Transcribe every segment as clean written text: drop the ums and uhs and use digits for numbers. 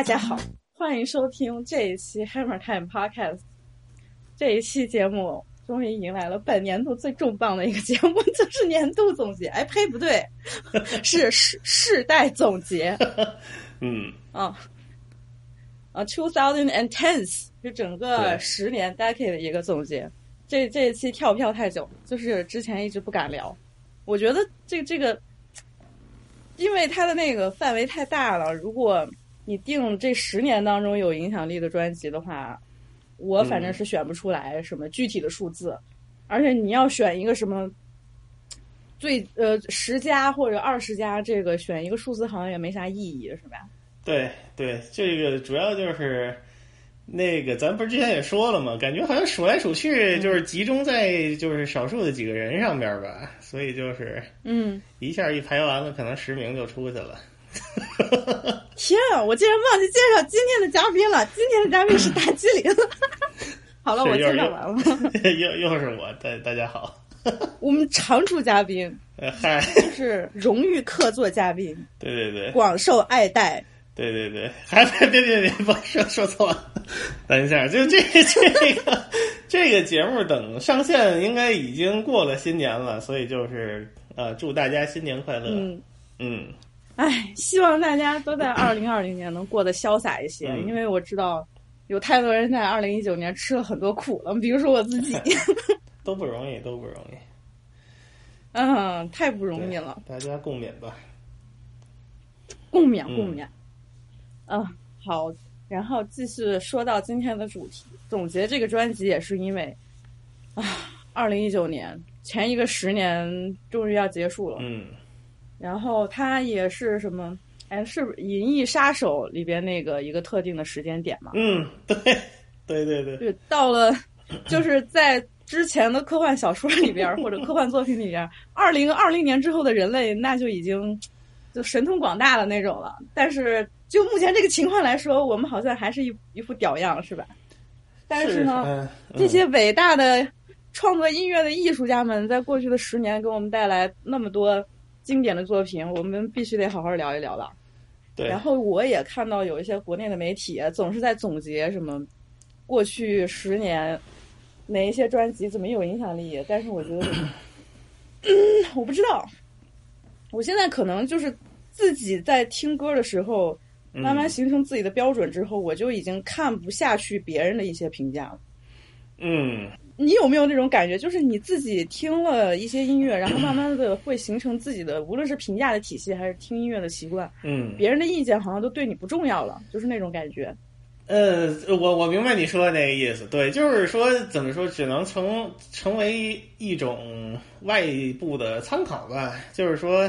家好，欢迎收听这一期 Hammer Time Podcast。这一期节目终于迎来了本年度最重磅的一个节目，就是年度总结。哎呸，不对，是世代总结。2010是整个10年 decade 的一个总结。这一期跳票太久，就是之前一直不敢聊。我觉得这个，因为它的那个范围太大了，如果你定这10年当中有影响力的专辑的话，我反正是选不出来什么具体的数字，而且你要选一个什么10家或者20家，这个选一个数字好像也没啥意义，是吧？ 对，这个主要就是那个咱不是之前也说了吗？感觉好像数来数去就是集中在就是少数的几个人上边吧，所以就是一下一排完了，可能10名就出去了。 天啊，我竟然忘记介绍今天的嘉宾了。今天的嘉宾是大吉林。好了，我介绍完了。 又是我，大家好。 我们常驻嘉宾， 嗨， 是荣誉客座嘉宾。 对， 广受爱戴。 对，还别，不说错了。等一下，就这个节目等上线应该已经过了新年了，所以就是祝大家新年快乐。 希望大家都在2020年能过得潇洒一些，因为我知道有太多人在2019年吃了很多苦了，比如说我自己。 都不容易。 太不容易了。 大家共勉吧。 共勉。好，然后继续说到今天的主题，总结这个专辑也是因为2019年前一个10年终于要结束了。然后它也是什么？是《银翼杀手》里边那个一个特定的时间点嘛？ 对， 就到了，就是在之前的科幻小说里边或者科幻作品里边，2020年之后的人类那就已经就神通广大的那种了。但是就目前这个情况来说，我们好像还是一副屌样，是吧？但是呢，这些伟大的创作音乐的艺术家们，在过去的10年给我们带来那么多经典的作品，我们必须得好好聊一聊了。 对。然后我也看到有一些国内的媒体总是在总结什么过去10年哪一些专辑怎么有影响力，但是我觉得我不知道，我现在可能就是自己在听歌的时候慢慢形成自己的标准之后，我就已经看不下去别人的一些评价了。你有没有那种感觉，就是你自己听了一些音乐，然后慢慢的会形成自己的无论是评价的体系还是听音乐的习惯，别人的意见好像都对你不重要了，就是那种感觉。 我明白你说的那个意思。对，就是说怎么说，只能成为一种外部的参考吧。就是说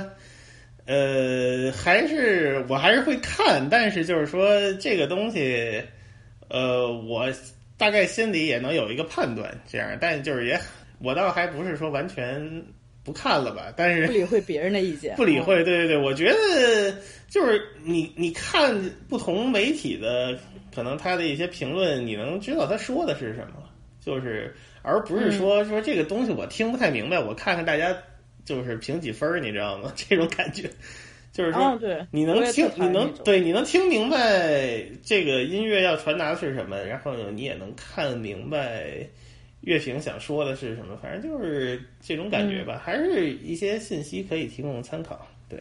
我还是会看，但是就是说这个东西我大概心里也能有一个判断，这样，但就是我倒还不是说完全不看了吧，但是不理会别人的意见， 不理会。对，我觉得就是你看不同媒体的可能他的一些评论，你能知道他说的是什么，就是而不是说这个东西我听不太明白，我看看大家就是评几分，你知道吗？这种感觉。就是说，你能听明白这个音乐要传达的是什么，然后呢，你也能看明白乐评想说的是什么，反正就是这种感觉吧，还是一些信息可以提供参考。对，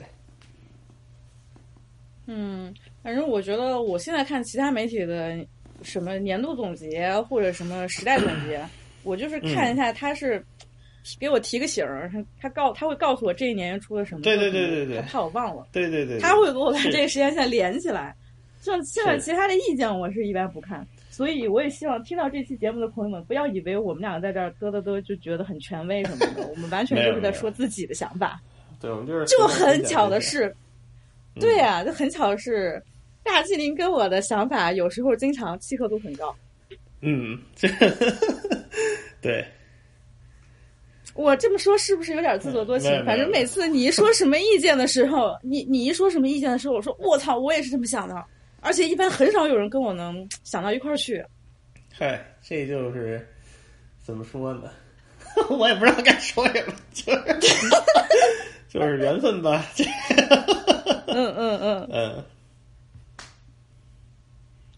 反正我觉得我现在看其他媒体的什么年度总结或者什么时代总结，我就是看一下他是给我提个醒儿，他会告诉我这一年出了什么。 对， 他怕我忘了。 对， 他会给我把这个时间线连起来。像现在其他的意见，我是一般不看。所以我也希望听到这期节目的朋友们，不要以为我们两个在这儿嘚就觉得很权威什么的，我们完全就是在说自己的想法。 对，我们就是。 就很巧的是，对呀，就很巧的是，大吉林跟我的想法有时候经常契合度很高。 对。 我这么说是不是有点自作多情？反正每次你一说什么意见的时候，你一说什么意见的时候，我说我操，我也是这么想的。而且一般很少有人跟我能想到一块儿去。 嗨，这就是怎么说呢？我也不知道该说什么，就是缘分吧。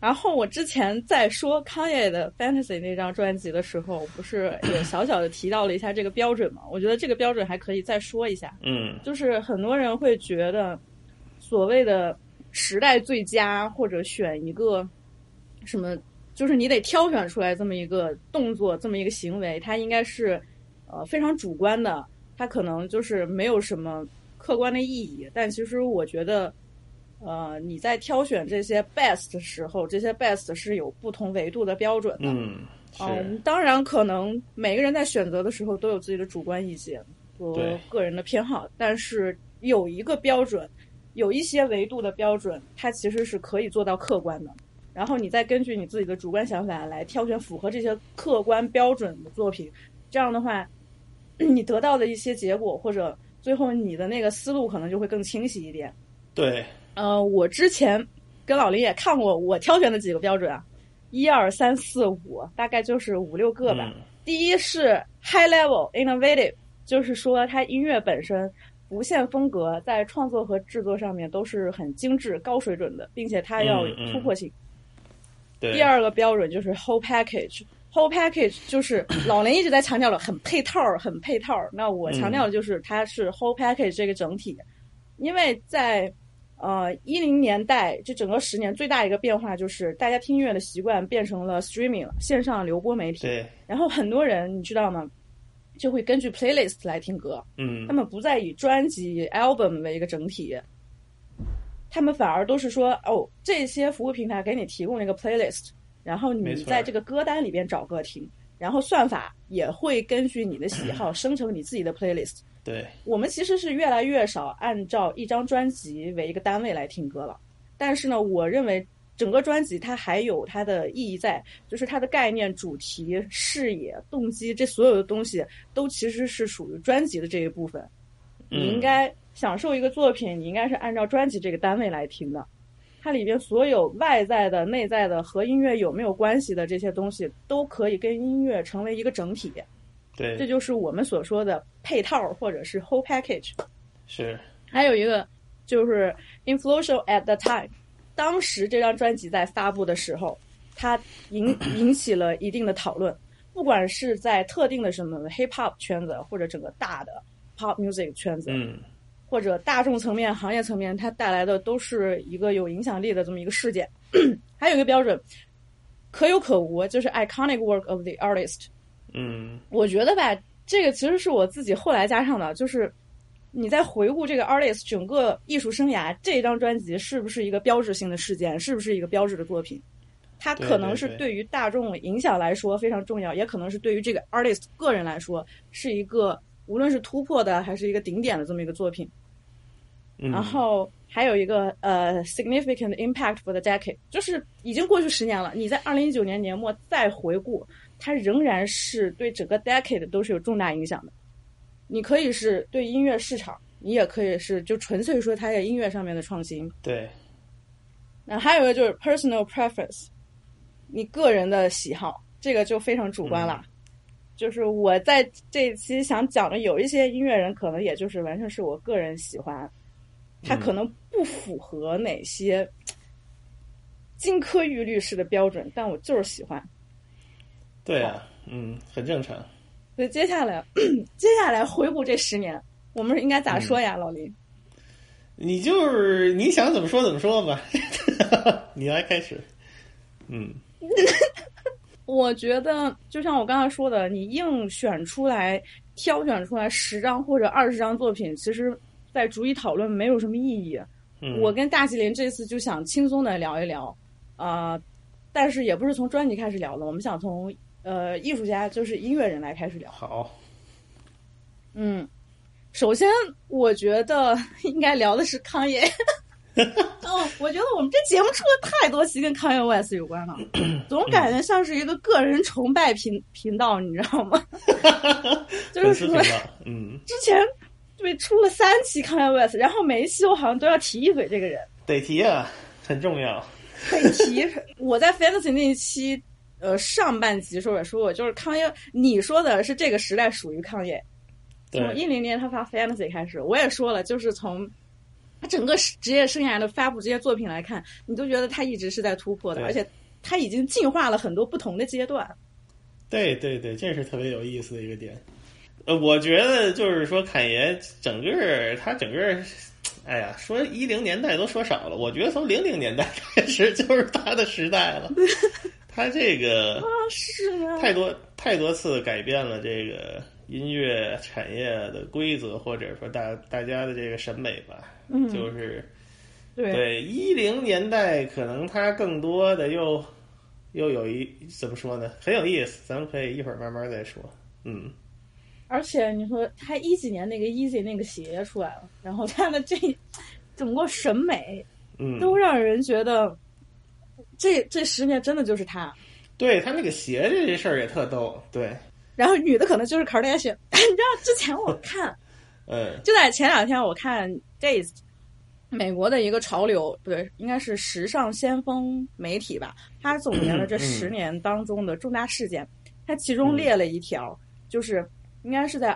然后我之前在说 Kanye 的 Fantasy 那张专辑的时候，不是也小小的提到了一下这个标准嘛？我觉得这个标准还可以再说一下。就是很多人会觉得所谓的时代最佳，或者选一个什么，就是你得挑选出来这么一个动作，这么一个行为，它应该是非常主观的，它可能就是没有什么客观的意义。但其实我觉得你在挑选这些 best 的时候，这些 best 是有不同维度的标准的。当然可能每个人在选择的时候都有自己的主观意见和个人的偏好，但是有一个标准，有一些维度的标准，它其实是可以做到客观的。然后你再根据你自己的主观想法来挑选符合这些客观标准的作品，这样的话你得到的一些结果或者最后你的那个思路可能就会更清晰一点。 对， 我之前跟老林也看过我挑选的几个标准啊，1、2、3、4、5，大概就是5、6个吧。第一是 high level innovative， 就是说它音乐本身不限风格，在创作和制作上面都是很精致高水准的，并且它要有突破性。第二个标准就是 whole package。whole package 就是老林一直在强调了很配套，那我强调的就是它是 whole package 这个整体。因为在10年代这整个10年最大一个变化就是大家听音乐的习惯变成了 streaming 了，线上流播媒体。 对， 然后很多人你知道吗，就会根据 playlist 来听歌。他们不再以专辑 album 为一个整体，他们反而都是说这些服务平台给你提供了一个 playlist， 然后你在这个歌单里边找歌听，然后算法也会根据你的喜好生成你自己的 playlist。 对， 我们其实是越来越少按照一张专辑为一个单位来听歌了，但是呢，我认为整个专辑它还有它的意义在，就是它的概念、主题、视野、动机，这所有的东西都其实是属于专辑的这一部分。你应该享受一个作品，你应该是按照专辑这个单位来听的，它里边所有外在的、内在的和音乐有没有关系的这些东西，都可以跟音乐成为一个整体。 对， 这就是我们所说的配套或者是 whole package。 是。 还有一个就是 influential at the time， 当时这张专辑在发布的时候，它引起了一定的讨论，不管是在特定的什么 hip hop 圈子，或者整个大的 pop music 圈子，或者大众层面、行业层面，它带来的都是一个有影响力的这么一个事件。还有一个标准可有可无，就是 iconic work of the artist。我觉得吧，这个其实是我自己后来加上的，就是你在回顾这个 artist 整个艺术生涯，这张专辑是不是一个标志性的事件，是不是一个标志的作品，它可能是对于大众影响来说非常重要，也可能是对于这个 artist 个人来说是一个无论是突破的还是一个顶点的这么一个作品。然后还有一个significant impact for the decade， 就是已经过去10年了，你在2019年年末再回顾，它仍然是对整个 decade 都是有重大影响的。你可以是对音乐市场，你也可以是就纯粹说它在音乐上面的创新。 对。 那还有一个就是 personal preference， 你个人的喜好，这个就非常主观了。就是我在这一期想讲的有一些音乐人可能也就是完全是我个人喜欢，他可能不符合哪些金科玉律式的标准，但我就是喜欢。 对啊，很正常。 所以接下来回顾这10年，我们应该咋说呀，老林？ 你就是你想怎么说怎么说吧，你来开始。 我觉得就像我刚才说的，你硬选出来、挑选出来10张或者20张作品，其实在逐一讨论没有什么意义。我跟大吉林这次就想轻松的聊一聊，但是也不是从专辑开始聊的，我们想从艺术家，就是音乐人来开始聊。 好。 首先我觉得应该聊的是康也。我觉得我们这节目出了太多期跟康也 West 有关了，总感觉像是一个个人崇拜频道，你知道吗？就是说，之前对出了3期康也 West， 然后每一期我好像都要提一嘴这个人。 得提啊，很重要。 得提。我在 Fantasy 那一期上半集时候也说过，就是康也，你说的是这个时代属于康也。从10年他发 Fantasy 开始，我也说了，就是从他整个职业生涯的发布这些作品来看，你都觉得他一直是在突破的，而且他已经进化了很多不同的阶段。 对对对，这是特别有意思的一个点。我觉得就是说侃爷整个，哎呀，说10年代都说少了，我觉得从00年代开始就是他的时代了。他这个是啊， 太多次改变了这个音乐产业的规则，或者说大家的这个审美吧。就是对10年代可能他更多的又有怎么说呢，很有意思，咱们可以一会儿慢慢再说。 而且你说他10几年那个 Easy 那个鞋出来了，然后他的这整个审美，都让人觉得这10年真的就是他。 对，他那个鞋这事儿也特逗，对。 然后女的可能就是 Kardashian， 你知道之前我看，就在前2天我看 Days， 美国的一个潮流，不对，应该是时尚先锋媒体吧，他总结了这10年当中的重大事件，他其中列了一条，就是应该是在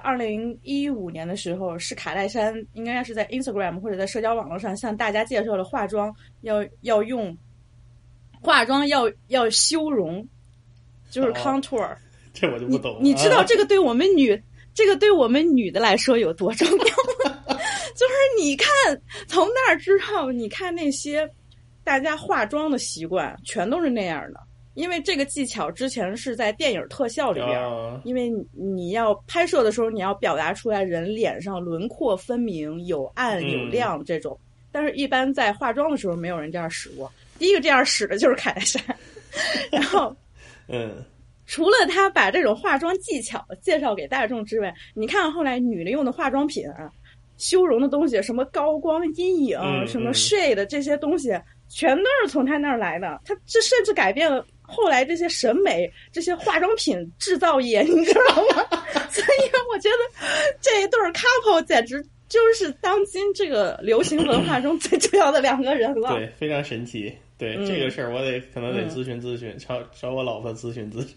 2015年的时候，是卡戴珊应该是在 Instagram 或者在社交网络上向大家介绍了化妆要用化妆要修容，就是 contour。 这我就不懂。 你知道这个对我们女的来说有多重要吗？就是你看从那儿之后，你看那些大家化妆的习惯全都是那样的。因为这个技巧之前是在电影特效里边，因为你要拍摄的时候，你要表达出来人脸上轮廓分明，有暗有亮这种。但是，一般在化妆的时候，没有人这样使过。第一个这样使的就是凯戴珊，然后，除了他把这种化妆技巧介绍给大众之外，你看后来女的用的化妆品啊，修容的东西，什么高光阴影，什么 shade 这些东西，全都是从他那儿来的。他这甚至改变了后来这些审美，这些化妆品制造业，你知道吗？所以我觉得这一对 couple 简直就是当今这个流行文化中最重要的2个人了。 对，非常神奇。对，这个事儿我可能得咨询咨询，找我老婆咨询咨询。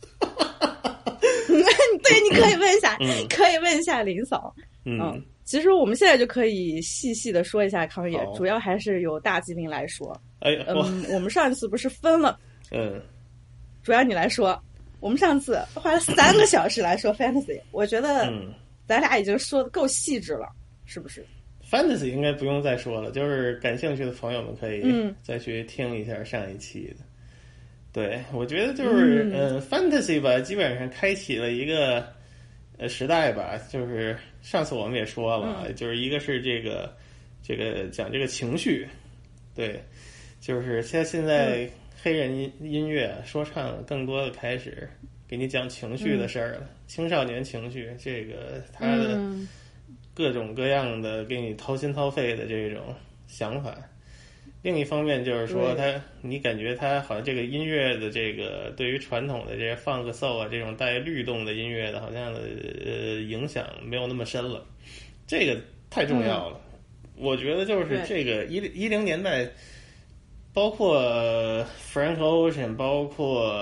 对，你可以问一下，可以问一下林嫂。其实我们现在就可以细细的说一下康也，主要还是由大吉林来说。我们上一次不是分了，主要你来说。我们上次花了3个小时来说 fantasy， 我觉得咱俩已经说的够细致了，是不是 ？fantasy 应该不用再说了，就是感兴趣的朋友们可以再去听一下上一期的。对，我觉得就是fantasy 吧，基本上开启了一个时代吧。就是上次我们也说了，就是一个是这个讲这个情绪，对，就是现在黑人音乐说唱更多的开始给你讲情绪的事儿了，青少年情绪，这个他的各种各样的给你掏心掏肺的这种想法。另一方面就是说你感觉他好像这个音乐的这个对于传统的这些funk soul啊这种带律动的音乐的好像影响没有那么深了，这个太重要了。我觉得就是这个10年代，包括 Frank Ocean， 包括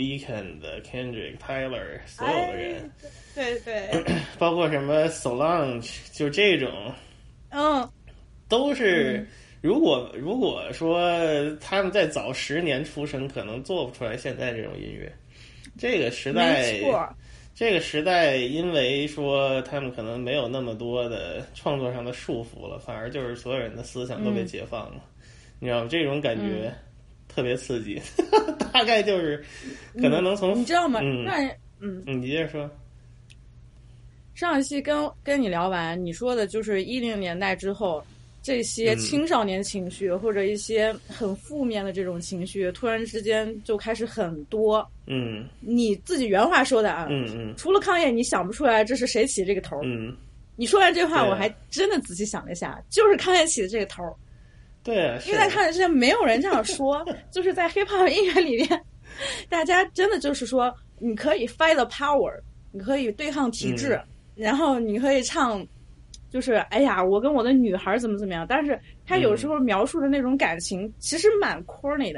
Weeknd、Kendrick、Tyler 所有的人， 对， 包括什么 Solange， 就这种，都是。如果说他们在早10年出生，可能做不出来现在这种音乐。这个时代，因为说他们可能没有那么多的创作上的束缚了，反而就是所有人的思想都被解放了。你知道吗？这种感觉特别刺激，大概就是可能能从你知道吗？ 你接着说。 上一期跟你聊完，你说的就是10年代之后。这些青少年情绪或者一些很负面的这种情绪，突然之间就开始很多。你自己原话说的啊。除了康也，你想不出来这是谁起这个头。你说完这话，我还真的仔细想了一下，就是康也起的这个头。 对啊， 因为在康也之前没有人这样说，就是在 hiphop 音乐里面，大家真的就是说，你可以 fight the power， 你可以对抗体制，然后你可以唱。就是哎呀，我跟我的女孩怎么样，但是他有时候描述的那种感情其实蛮 corny 的，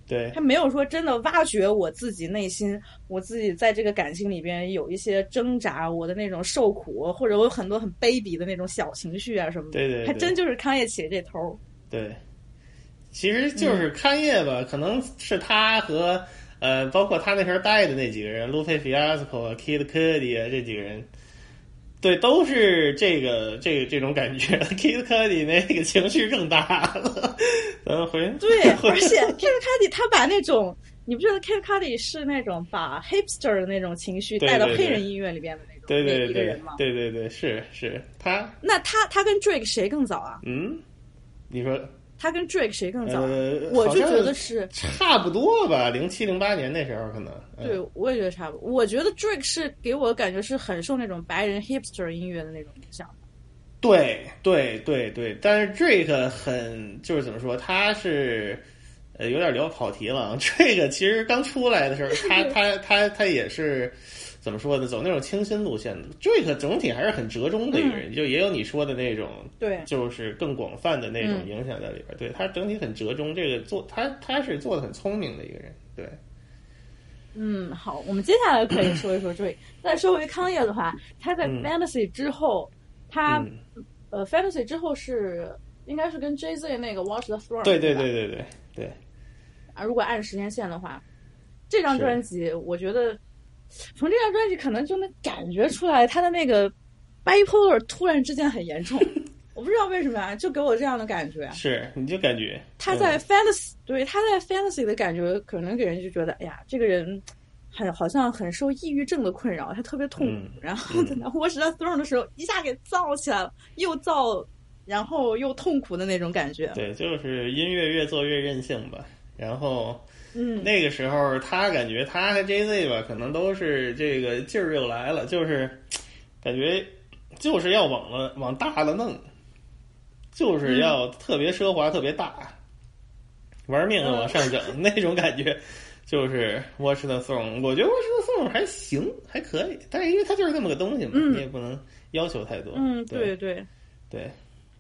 对， 他没有说真的挖掘我自己内心，我自己在这个感情里边有一些挣扎，我的那种受苦，或者我有很多很卑鄙的那种小情绪啊什么的。 对对对， 还真就是康业起的这头。 对，其实就是康业吧，可能是他和包括他那时候带的那几个人，路费菲亚斯科啊、Kid Cudi 啊这几个人。对，都是这种感觉。Kid Cudi 那个情绪更大了， 对，而且 Kid Cudi 他把那种，你不觉得 Kid Cudi 是那种把 hipster 的那种情绪带到黑人音乐里边的那种对对对一个人吗？ 对对对，是他。 那他跟 Drake 谁更早啊？ 你说他跟 Drake 谁更早？我就觉得是差不多吧，07、08年那时候可能。 对，我也觉得差不多。我觉得 Drake 是给我的感觉是很受那种白人 hipster 音乐的那种影响的。 对对对对，但是 Drake 很就是怎么说，他是有点聊跑题了。Drake 其实刚出来的时候，他也是。怎么说呢？走那种清新路线的 Drake 总体还是很折中的一个人，就也有你说的那种， 对， 就是更广泛的那种影响在里边。对，他整体很折中，这个他是做的很聪明的一个人。对， 好，我们接下来可以说一说 Drake。再说回康业的话，他在 Fantasy 之后，他Fantasy 之后是应该是跟 Jay-Z 那个 Watch the Throne。 对对对对对对。 啊，如果按时间线的话，这张专辑我觉得。从这张专辑可能就能感觉出来他的那个 bipolar 突然之间很严重，我不知道为什么啊，就给我这样的感觉。 是，你就感觉他在 fantasy，对，他在 fantasy 的感觉可能给人就觉得，哎呀，这个人好像很受抑郁症的困扰，他特别痛苦。然后等到 Watch the Throne 的时候，一下给燥起来了，又燥，然后又痛苦的那种感觉。 对，就是音乐越做越任性吧，然后。那个时候他感觉他和 Jay-Z 吧，可能都是这个劲儿又来了，就是感觉就是要往大了弄，就是要特别奢华、特别大，玩命的往上整、那种感觉。就是 Watch the Throne， 我觉得 Watch the Throne 还行，还可以，但是因为它就是这么个东西嘛，你也不能要求太多。 对对对，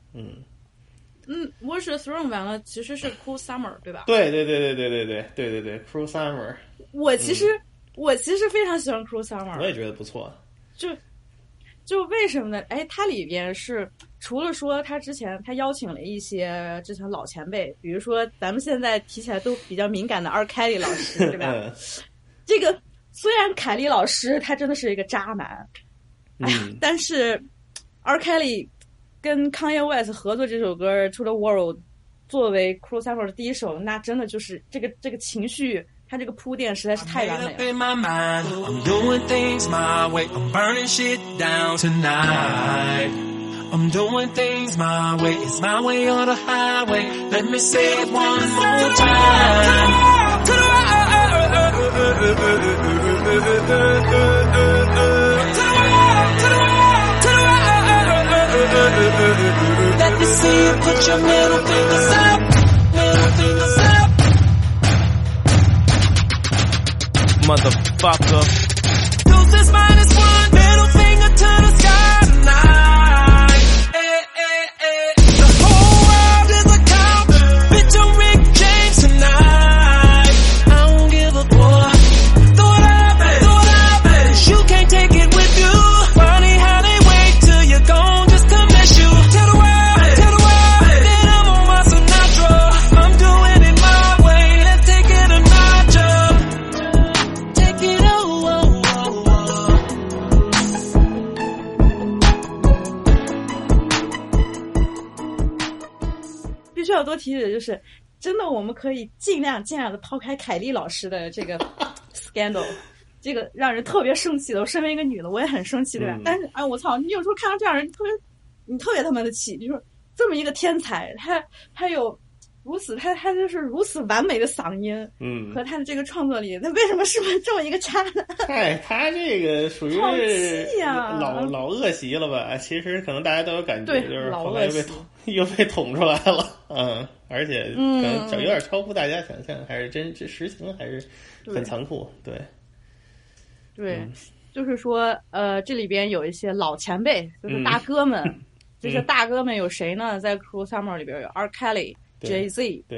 Watch the Throne 完了，其实是 Cruel Summer 对吧？ 对 Cruel Summer。我其实非常喜欢 Cruel Summer， 我也觉得不错。 就为什么呢？哎，它里边是除了说他之前他邀请了一些之前老前辈，比如说咱们现在提起来都比较敏感的R. Kelly 老师，对吧？这个虽然凯利老师他真的是一个渣男，但是 R. Kelly。跟 Kanye West 合作这首歌《To the World》作为 Cruel Summer 的第一首，那真的就是这个情绪，它这个铺垫实在是太完美了。I'm doing things my way, I'm burning shit down tonight. I'm doing things my way, it's my way or the highway. Let me say it one more time. To the Let me see you put your middle fingers up, middle fingers up. Motherfucker. Deuces -1, middle finger to the sky tonight. Hey, hey, hey. The whole world is a cop. Bitch, I'm Rick James tonight. I don't give a boy. Throw it up, baby. You can't take it with you. Funny how they wait till you're gone just to miss you. Tell the world that I'm on my Sinatra. I'm doing it my way. Let's take it a notch up. Take it oh. 必须要多提的就是，真的我们可以尽量的抛开凯莉老师的这个 scandal。这个让人特别生气的，我身为一个女的，我也很生气，对吧？但是我操，你有时候看到这样人，你特别他妈的气，就是这么一个天才，他有如此，他就是如此完美的嗓音，和他的这个创作力，他为什么是这么一个渣男？ 他这个属于是呀， 老恶习了吧？其实可能大家都有感觉，就是后来又被捅出来了，而且可能有点超乎大家想象，还是这实情还是很残酷，对。 对，就是说，这里边有一些老前辈，就是大哥们，这些大哥们有谁呢？在 Cruel Summer 里边有 R. Kelly、Jay-Z， 对，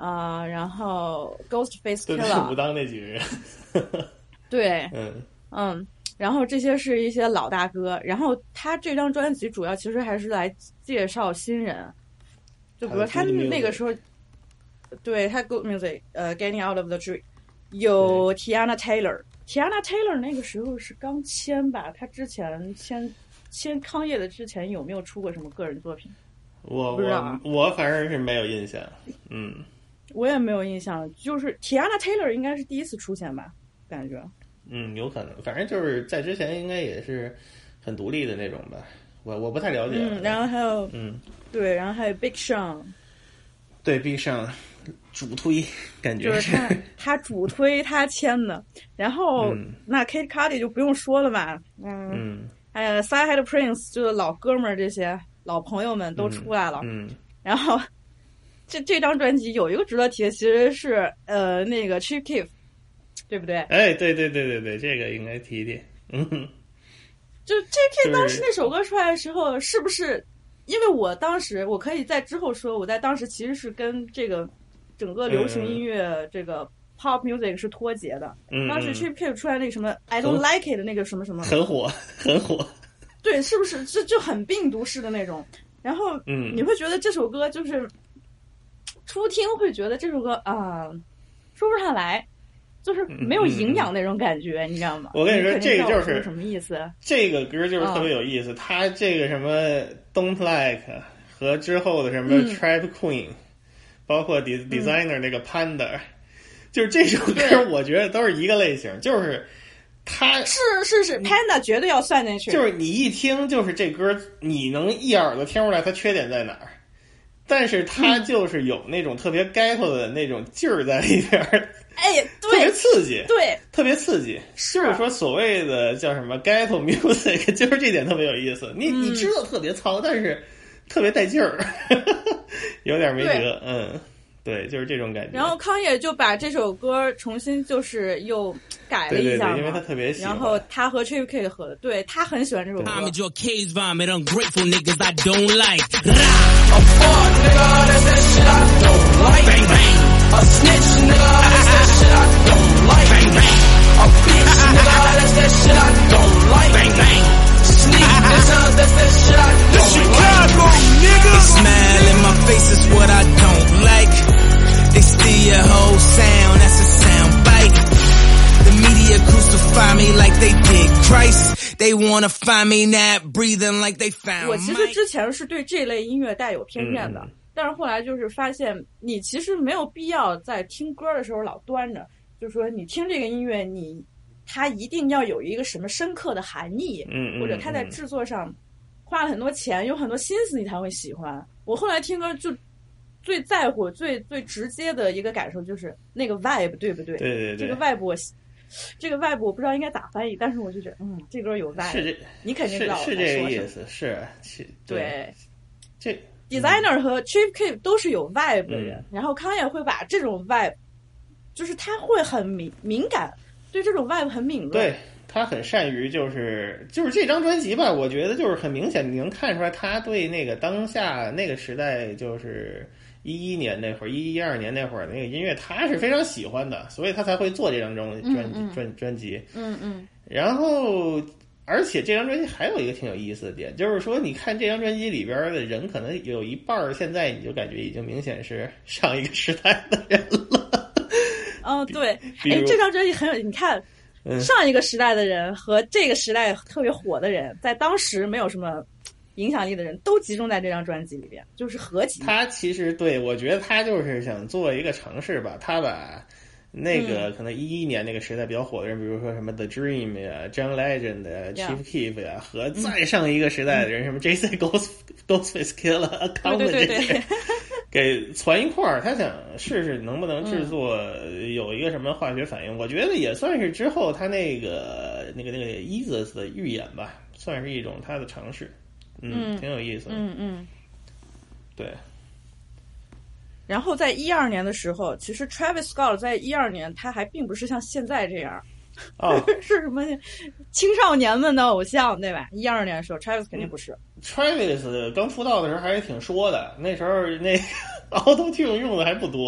然后 Ghostface 对 Killah， 武当那几个人， 对， 嗯， 然后这些是一些老大哥，然后他这张专辑主要其实还是来介绍新人，就比如他那个时候，对他 Good Music，Getting Out of the Tree， 有 Tiana Taylor 那个时候是刚签吧，他之前签康业的之前有没有出过什么个人作品？ 我反正是没有印象， 我也没有印象，就是 Tiana Taylor 应该是第一次出现吧，感觉。 有可能，反正就是在之前应该也是很独立的那种吧，我不太了解。 然后还有对，然后还有 Big Sean， 对 Big Sean 主推，感觉就是他主推他签的，然后那 Kid Cudi 就不用说了吧，还有 Side Prince 就是老哥们儿，这些老朋友们都出来了，然后这张专辑有一个值得提的，其实是那个 Chief Keef。对不对？ 哎，对，这个应该提提。 就 JK 当时那首歌出来的时候，是不是？因为我当时，我可以在之后说，我在当时其实是跟这个整个流行音乐这个 pop music 是脱节的。当时 JK 出来那个什么 I don't like it 的那个什么什么， 很火。 对，是不是就很病毒式的那种？然后你会觉得这首歌就是初听会觉得这首歌说不上来。就是没有营养那种感觉，你知道吗？ 我跟你说，这个就是什么意思？ 这个歌就是特别有意思。他这个什么 Don't Like 和之后的什么 Trap Queen，包括 Designer 那个 Panda，就是这首歌，我觉得都是一个类型，就是他是 Panda 绝对要算进去。 就是你一听，就是这歌，你能一耳朵听出来它缺点在哪儿，但是它就是有那种特别 ghetto 的那种劲儿在里边。 哎，对， 特别刺激， 对， 特别刺激，就是说所谓的叫什么 ghetto music， 就是这点特别有意思。你知道特别糙，但是特别带劲儿，有点没辙。对，就是这种感觉。 然后康也就把这首歌重新就是又改了一下嘛， 对，因为他特别喜欢。 然后他和 Chief Keef 合的，对，他很喜欢这首歌。 I'm in your cage vomit, ungrateful niggas I don't like. A fuck nigga, that's that shit I don't like. Bang bang. A snitch nigga, that's that shit I don't like. Bang bang. A bitch nigga, that's that shit I don't like. Bang bang. Sneak niggas, that's that shit I don't like. Chicago nigga. Smile in my face is what I don't like. They steal your whole sound, that's a sound bite. The media crucify me like they did Christ. They wanna find me not breathing like they found. 我其实之前是对这类音乐带有偏见的，但是后来就是发现，你其实没有必要在听歌的时候老端着，就是说你听这个音乐，它一定要有一个什么深刻的含义，或者它在制作上花了很多钱，有很多心思，你才会喜欢。我后来听歌就最在乎、最直接的一个感受就是那个 vibe， 对不对？ 对， 这个 vibe 我不知道应该咋翻译，但是我就觉得，这歌有 vibe，你肯定知道我在说什么。 是这个意思， 对， 这 Designer 和 Chief Keef 都是有 vibe 的人，然后康也会把这种 vibe， 就是他会很敏感，对这种 vibe 很敏锐。 对，他很善于就是这张专辑吧，我觉得就是很明显，你能看出来他对那个当下那个时代，就是11年那会儿、12年那会儿那个音乐，他是非常喜欢的，所以他才会做这张专辑。然后。而且这张专辑还有一个挺有意思的点，就是说，你看这张专辑里边的人，可能有一半现在你就感觉已经明显是上一个时代的人了。 对，这张专辑很有，你看，上一个时代的人和这个时代特别火的人，在当时没有什么影响力的人都集中在这张专辑里边，就是合集。 他其实对我觉得他就是想做一个尝试吧，他把。那个可能11年那个时代比较火的人，比如说什么 The Dream 呀、John Legend 呀、Chief Keef 呀，和再上一个时代的人，什么 J.C. Ghostface Killah、Akon 这些，给攒一块儿，他想试试能不能制作有一个什么化学反应。我觉得也算是之后他那个 Yeezus 的预演吧，算是一种他的尝试，挺有意思的。对。 然后在12年的时候，其实 Travis Scott 在12年他还并不是像现在这样，是什么青少年们的偶像，对吧？12年的时候 ，Travis 肯定不是。 Travis 刚出道的时候还是挺说的，那时候那 Auto-Tune 用的还不多，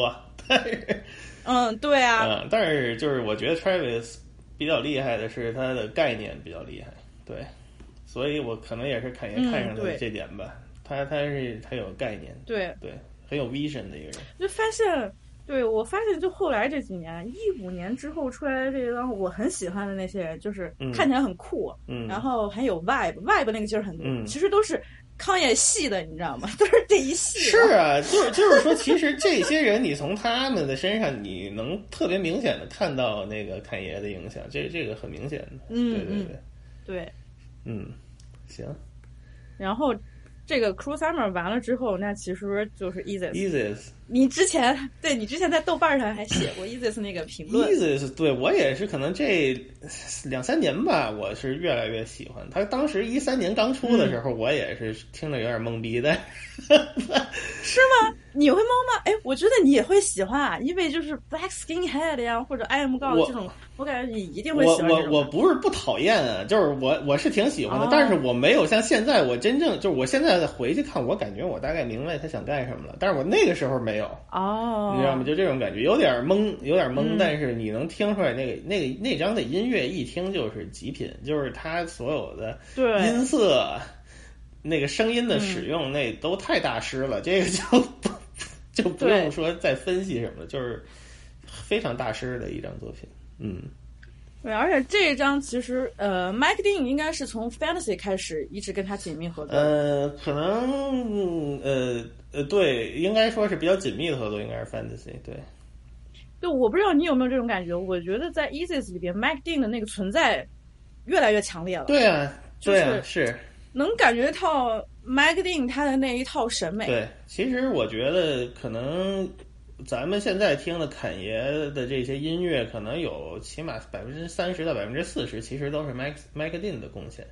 对啊， 但是就是我觉得 Travis 比较厉害的是他的概念比较厉害，对，所以我可能也是看上了这点吧。他有概念，对，很有 vision 的一个人。 就发现，我发现就后来这几年，15年之后出来的这帮我很喜欢的那些人，就是看起来很酷，然后很有 vibe 那个劲儿很多，其实都是康也系的，你知道吗？都是这一系。 是啊，就是说，其实这些人，你从他们的身上，你能特别明显的看到那个侃爷的影响，这个很明显的。对，行。 然后这个 Cruel Summer 完了之后，那其实就是 Yeezus。 你之前在豆瓣上还写过 Yeezus 那个评论。 Yeezus 对我也是，可能这2-3年吧，我是越来越喜欢他。当时13年刚出的时候，我也是听着有点懵逼的。 是吗？你会懵吗？哎，我觉得你也会喜欢啊，因为就是 Black Skinhead 呀，或者 I Am God 这种，我感觉你一定会喜欢这种。 我不是不讨厌啊，就是我是挺喜欢的，但是我没有像现在我真正就是我现在回去看，我感觉我大概明白他想干什么了，但是我那个时候没有。你知道吗？就这种感觉，有点懵，但是你能听出来那张的音乐一听就是极品，就是他所有的音色。那个声音的使用，那都太大师了，这个就不用说再分析什么了，就是非常大师的一张作品。 对，而且这一张其实Mike Dean 应该是从 Fantasy 开始一直跟他紧密合作。 可能对，应该说是比较紧密的合作，应该是 Fantasy。 对，我不知道你有没有这种感觉，我觉得在 Yeezus 里边 Mike Dean 的那个存在越来越强烈了。 对啊，是。 能感觉到 Mike Dean 他的那一套审美。 对，其实我觉得可能咱们现在听的侃爷的这些音乐，可能有起码30%到40%，其实都是 Mike Dean 的贡献。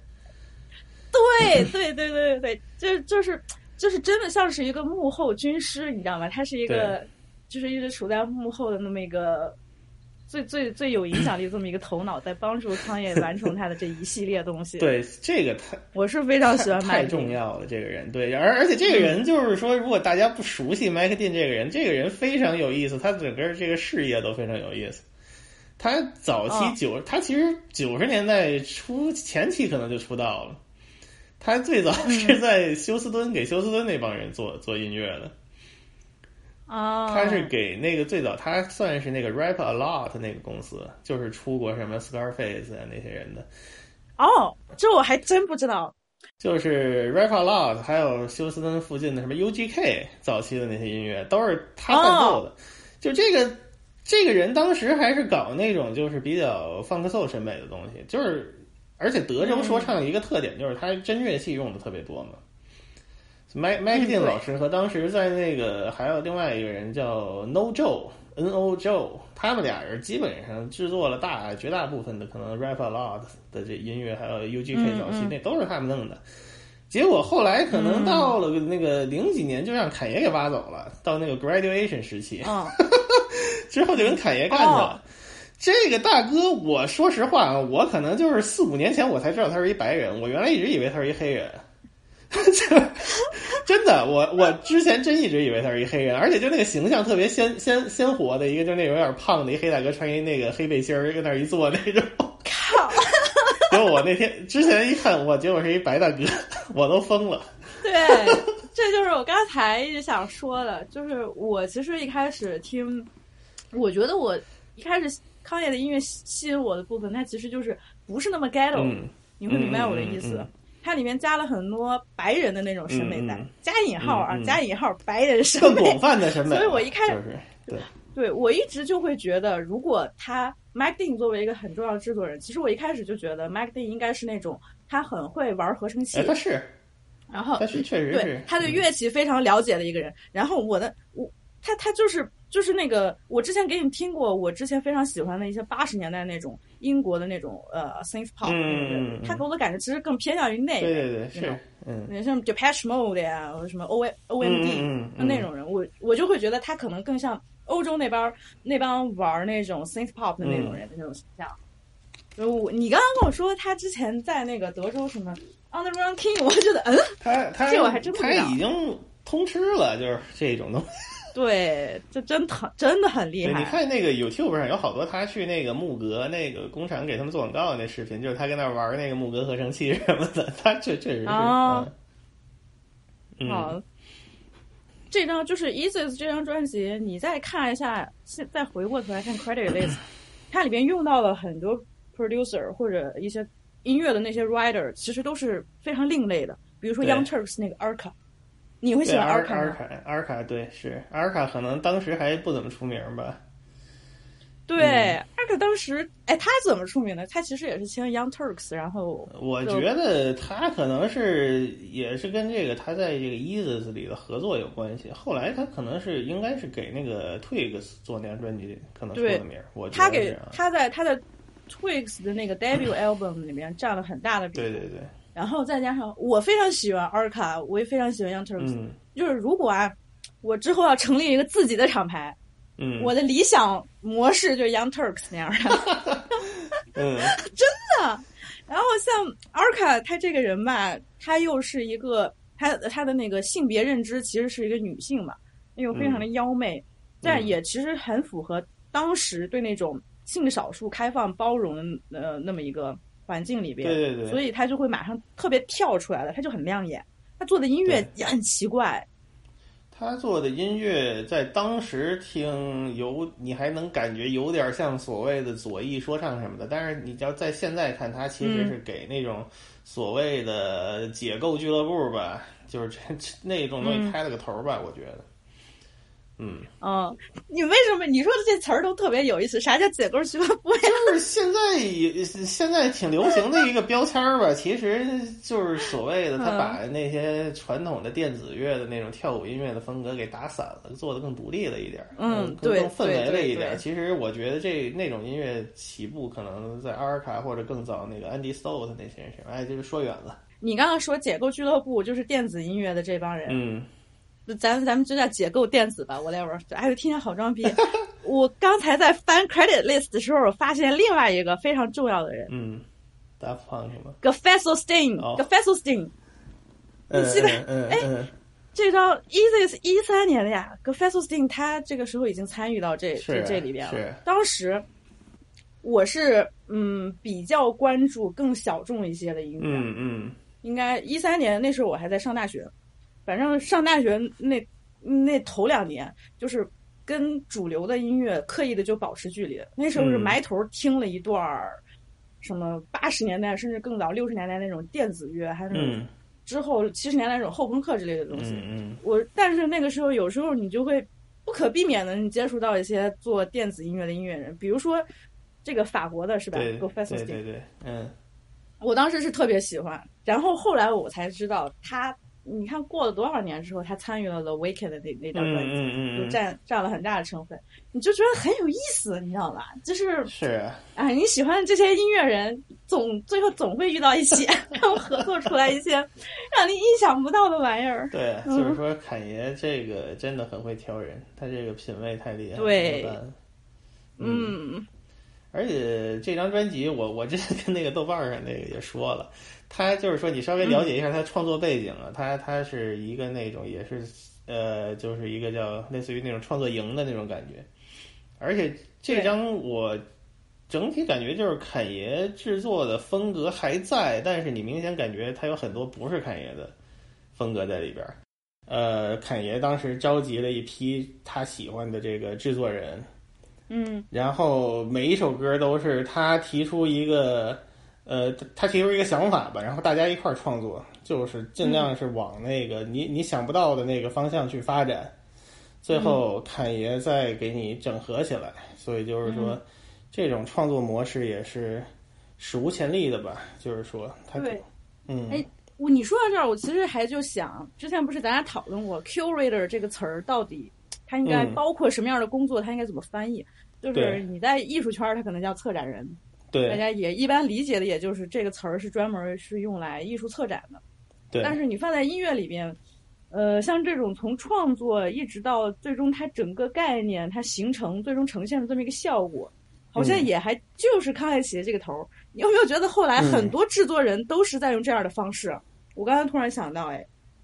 对，就是真的像是一个幕后军师，你知道吗？他是一个就是一直处在幕后的那么一个。最有影响力的这么一个头脑，在帮助康也完成他的这一系列东西。 对，这个我是非常喜欢太重要了。这个人，对，而且这个人就是说，如果大家不熟悉麦克丁这个人非常有意思，他整个这个事业都非常有意思。他早期他其实90年代初前期可能就出道了。他最早是在休斯敦给休斯敦那帮人做音乐的。他是给那个最早，他算是那个 Rap A Lot 那个公司，就是出过什么 Scarface 啊那些人的。 这我还真不知道。 就是 Rap A Lot， 还有休斯敦附近的什么 UGK 早期的那些音乐都是他伴奏的。就这个人当时还是搞那种就是比较funk soul审美的东西，就是而且德州说唱一个特点就是他真乐器用的特别多嘛。Mike Dean 老师和当时在那个还有另外一个人叫 No Joe， 他们俩人基本上制作了绝大部分的可能 Rap A Lot 的这音乐，还有 UGK 早期那都是他们弄的。结果后来可能到了那个00几年就让侃爷给挖走了，到那个 Graduation 时期，之后就跟侃爷干去了。这个大哥，我说实话啊，我可能就是4-5年前我才知道他是一白人，我原来一直以为他是一黑人。真的，我之前真一直以为他是一黑人，而且就那个形象特别鲜活的一个，就那种有点胖的一黑大哥，穿一那个黑背心儿，跟那儿一坐那种。 靠！ 结果我那天之前一看，结果是一白大哥，我都疯了。 对，这就是我刚才一直想说的，就是我其实一开始听，我觉得我一开始康也的音乐吸引我的部分，它其实就是不是那么 ghetto，你会明白我的意思。它里面加了很多白人的那种审美在，加引号啊，加引号白人审美， 更广泛的审美。 所以我一开始就是对我一直就会觉得，如果他 Mike Dean 作为一个很重要的制作人，其实我一开始就觉得 Mike Dean 应该是那种他很会玩合成器， 他是， 然后他是确实是对他对乐器非常了解的一个人。然后他就是那个，我之前给你听过，我之前非常喜欢的一些80年代那种英国的那种synth pop，他给我的感觉其实更偏向于那个， 对是， 像 Depeche Mode 呀，或者什么 OMD 那种人，我就会觉得他可能更像欧洲那帮玩那种 synth pop 的那种人的那种形象。你刚刚跟我说他之前在那个德州什么 On the Run King， 我觉得他这我还真不知道， 他已经通吃了，就是这种东西。 对，这真的很厉害。 你看那个 YouTube 上有好多他去那个木格那个工厂给他们做广告的那视频，就是他跟那玩那个木格合成器什么的，他确实是好，这张就是 Yeezus 这张专辑，你再看一下，再回过头来看 Credit List， 它里边用到了很多 producer 或者一些音乐的那些 writer， 其实都是非常另类的。比如说 Young Turks 那个 Arca， 你会喜欢 Arca 吗 ？Arca 对，是 Arca 可能当时还不怎么出名吧。 对，Arca 当时，他怎么出名的？他其实也是签 Young Turks， 然后我觉得他可能也是跟这个他在这个 Yeezus 里的合作有关系。后来他可能应该是给那个 Twigs 做那张专辑，可能出的名。我觉得他在 Twigs 的那个 debut album 里面占了很大的比例。 对。 然后再加上我非常喜欢 Arca， 我也非常喜欢 Young Turks，就是如果我之后要成立一个自己的厂牌。我的理想模式就是 Young Turks 那样的，真的。然后像 Arca 他这个人吧，他又是一个他的那个性别认知其实是一个女性嘛，又非常的妖媚，但也其实很符合当时对那种性少数开放包容的那么一个环境里边， 对， 所以他就会马上特别跳出来了，他就很亮眼，他做的音乐也很奇怪。 他做的音乐在当时听你还能感觉有点像所谓的左翼说唱什么的，但是你要在现在看，他其实是给那种所谓的解构俱乐部吧，就是那种东西开了个头吧，我觉得。 你为什么你说的这词儿都特别有意思？啥叫解构俱乐部呀？ 就是现在挺流行的一个标签吧，其实就是所谓的他把那些传统的电子乐的那种跳舞音乐的风格给打散了，做得更独立了一点，更氛围了一点。其实我觉得那种音乐起步可能在阿尔卡或者更早那个 Andy Stott 那些人身上，就是说远了。 你刚刚说解构俱乐部就是电子音乐的这帮人，咱们就叫解构电子吧 ，whatever。听起来好装逼。我刚才在翻 credit list 的时候，发现另外一个非常重要的人 Daft Punk 吗 ？Gefesselstein，你记得？这张 Yeezus 13年的呀 ，Gefesselstein 他这个时候已经参与到这里边了。当时我是比较关注更小众一些的音乐，应该13年那时候我还在上大学。反正上大学那头2年，就是跟主流的音乐刻意的就保持距离。那时候是埋头听了一段什么80年代甚至更早60年代那种电子乐，还有之后70年代那种后朋克之类的东西。但是那个时候有时候你就会不可避免的你接触到一些做电子音乐的音乐人，比如说这个法国的是吧 ？Gefesselstein， 对， 我当时是特别喜欢，然后后来我才知道他。你看过了多少年之后，他参与了 The Weeknd 的那张专辑，就占了很大的成分，你就觉得很有意思，你知道吧？就是你喜欢这些音乐人，最后总会遇到一起，然后合作出来一些让你意想不到的玩意儿。 对，就是说侃爷这个真的很会挑人，他这个品味太厉害了。 对， 而且这张专辑，我之前跟那个豆瓣上那个也说了。他就是说，你稍微了解一下他创作背景啊，他是一个那种也是就是一个叫类似于那种创作营的那种感觉，而且这张我整体感觉就是侃爷制作的风格还在，但是你明显感觉他有很多不是侃爷的风格在里边。侃爷当时召集了一批他喜欢的这个制作人，然后每一首歌都是他提出一个。他提出一个想法吧，然后大家一块儿创作，就是尽量是往那个你想不到的那个方向去发展，最后侃爷再给你整合起来。所以就是说，这种创作模式也是史无前例的吧？就是说， 对，你说到这儿，我其实还就想，之前不是咱俩讨论过 curator 这个词儿到底它应该包括什么样的工作，它应该怎么翻译？就是你在艺术圈，它可能叫策展人。 对， 大家也一般理解的，也就是这个词儿是专门是用来艺术策展的。 对， 但是你放在音乐里边，像这种从创作一直到最终它整个概念它形成最终呈现的这么一个效果，好像也还就是康爱奇这个头。你有没有觉得后来很多制作人都是在用这样的方式？我刚才突然想到，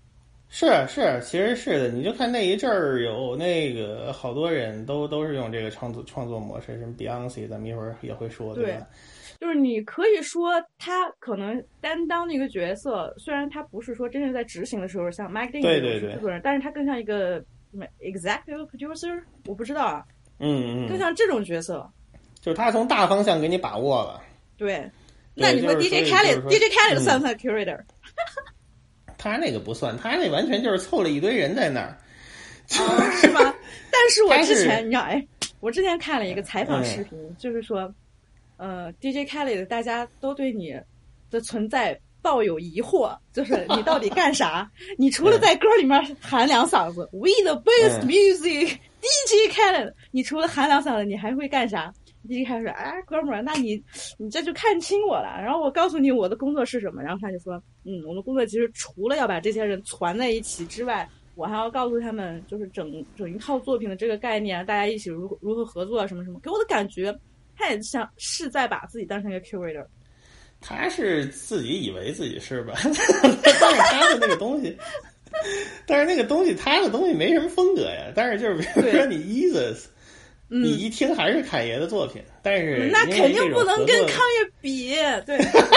是，其实是的。你就看那一阵儿有那个好多人都是用这个创作模式，什么 Beyonce， 咱们一会儿也会说，对吧？ 就是你可以说他可能担当的一个角色，虽然他不是说真正在执行的时候像 Mike Dean 这种制作人，但是他更像一个什么 executive producer， 我不知道啊，更像这种角色， 就是他从大方向给你把握了。 对，那你说 DJ Khaled 算不算 curator？ 他那个不算，他那完全就是凑了一堆人在那儿， 是吗？但是我之前你知道，我之前看了一个采访视频，就是说。DJ Khaled 大家都对你的存在抱有疑惑，就是你到底干啥？你除了在歌里面喊两嗓子，We the best music， DJ Khaled， 你除了喊两嗓子，你还会干啥？DJ Khaled 说：“哎，哥们儿，那你这就看清我了。然后我告诉你我的工作是什么。”然后他就说：“我的工作其实除了要把这些人攒在一起之外，我还要告诉他们，就是整一套作品的这个概念，大家一起如何合作，什么什么。给我的感觉。”他也像是在把自己当成一个 curator， 他是自己以为自己是吧？但是他的那个东西，他的东西没什么风格呀。但是就是比如说你 Yeezus，你一听还是侃爷的作品，但是那肯定不能跟康爷比，对，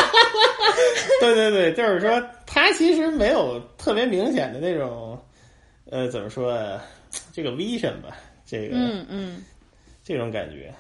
对，就是说他其实没有特别明显的那种，怎么说啊？这个 vision 吧，这个，这种感觉。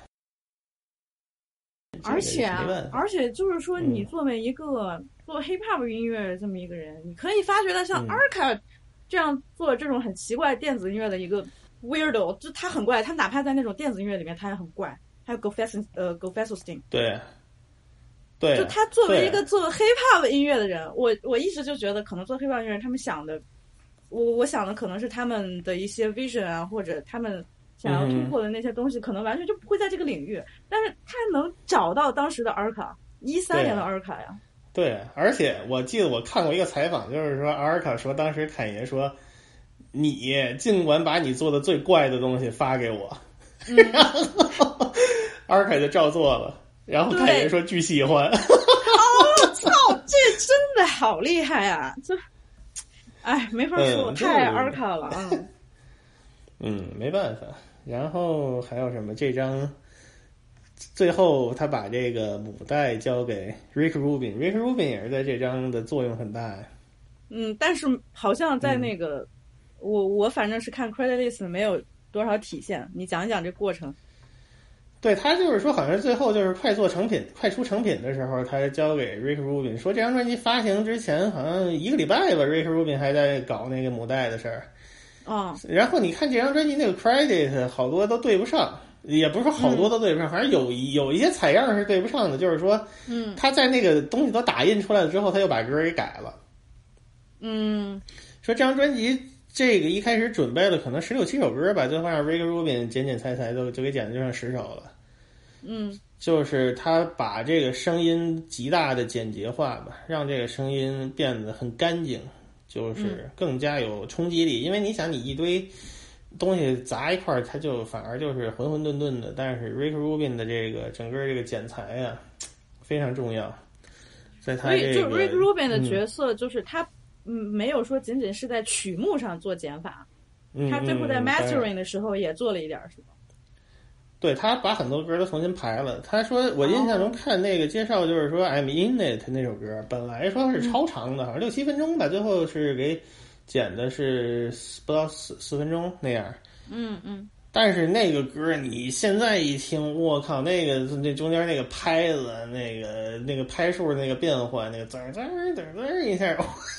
而且就是说，你作为一个做 hip hop 音乐的这么一个人，你可以发掘到像 Arca 这样做这种很奇怪电子音乐的一个 weirdo， 就他很怪，他哪怕在那种电子音乐里面他也很怪。还有 Go-Fesselstein， 对， 就他作为一个做 hip hop 音乐的人，我一直就觉得可能做 hip hop 音乐人他们想的，我想的可能是他们的一些 vision 啊，或者他们。想要突破的那些东西，可能完全就不会在这个领域，但是他能找到当时的阿尔卡，13年的阿尔卡呀。 对，而且我记得我看过一个采访，就是说阿尔卡说，当时侃爷说，你尽管把你做的最怪的东西发给我，然后阿尔卡就照做了，然后侃爷说巨喜欢。 哦，操，这真的好厉害啊！这，哎，没法说，太阿尔卡了啊。 没办法。然后还有什么？这张最后他把这个母带交给 Rick Rubin，Rick Rubin 也是在这张的作用很大呀。 但是好像在那个，我反正是看 credit list 没有多少体现。你讲一讲这过程。 对，他就是说，好像最后就是快出成品的时候，他交给 Rick Rubin， 说这张专辑发行之前好像1个礼拜吧 ，Rick Rubin 还在搞那个母带的事儿。然后你看这张专辑那个 credit 好多都对不上，也不是说好多都对不上，反正有一些采样是对不上的，就是说，他在那个东西都打印出来了之后，他又把歌给改了。说这张专辑这个一开始准备了可能16、17首歌吧，最后让 Rick Rubin 剪裁就给剪的就剩10首了。就是他把这个声音极大的简洁化吧，让这个声音变得很干净。就是更加有冲击力，因为你想，你一堆东西砸一块儿，它就反而就是混混沌沌的。但是 Rick Rubin 的这个整个这个剪裁啊，非常重要。在他这个， 所以就 Rick Rubin 的角色，就是他没有说仅仅是在曲目上做减法，他最后在 mastering 的时候也做了一点，是吧？ 对，他把很多歌都重新排了。他说，我印象中看那个介绍，就是说 I'm in it 那首歌本来说是超长的，好像6、7分钟吧，最后是给剪的是不到4分钟那样。但是那个歌你现在一听，我靠，那中间那个拍子，那个拍数那个变换，那个滋一下，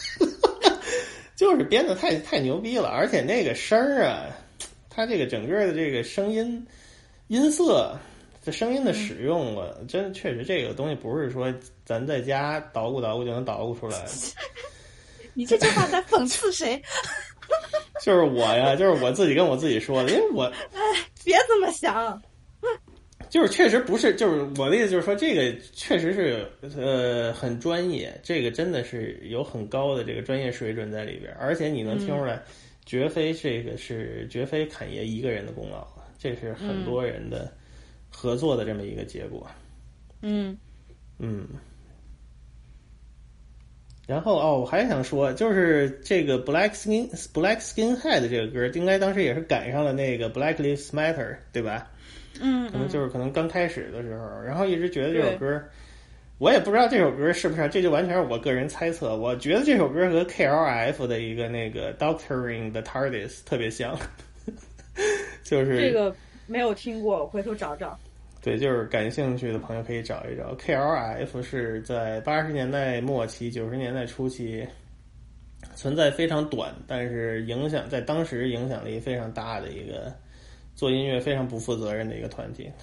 就是编的太牛逼了。而且那个声儿啊，它这个整个的这个声音色，这声音的使用啊，真的确实这个东西不是说咱在家捣鼓就能捣鼓出来。 你这句话在讽刺谁？ 就是我呀，就是我自己跟我自己说的，因为我别这么想。 就是确实不是，就是我的意思就是说，这个确实是很专业，这个真的是有很高的这个专业水准在里边，而且你能听出来，绝非侃爷一个人的功劳。这是很多人的合作的这么一个结果。 然后我还想说，就是这个 Black Skinhead 这个歌，应该当时也是赶上了那个 Black Lives Matter， 对吧？可能刚开始的时候，然后一直觉得这首歌，我也不知道这首歌是不是，这就完全是我个人猜测。我觉得这首歌和 KLF 的一个那个 Doctoring the TARDIS 特别像，就是这个没有听过，我回头找找。 对，就是感兴趣的朋友可以找一找。KLF 是在80年代末期、90年代初期存在非常短，但是在当时影响力非常大的一个做音乐非常不负责任的一个团体。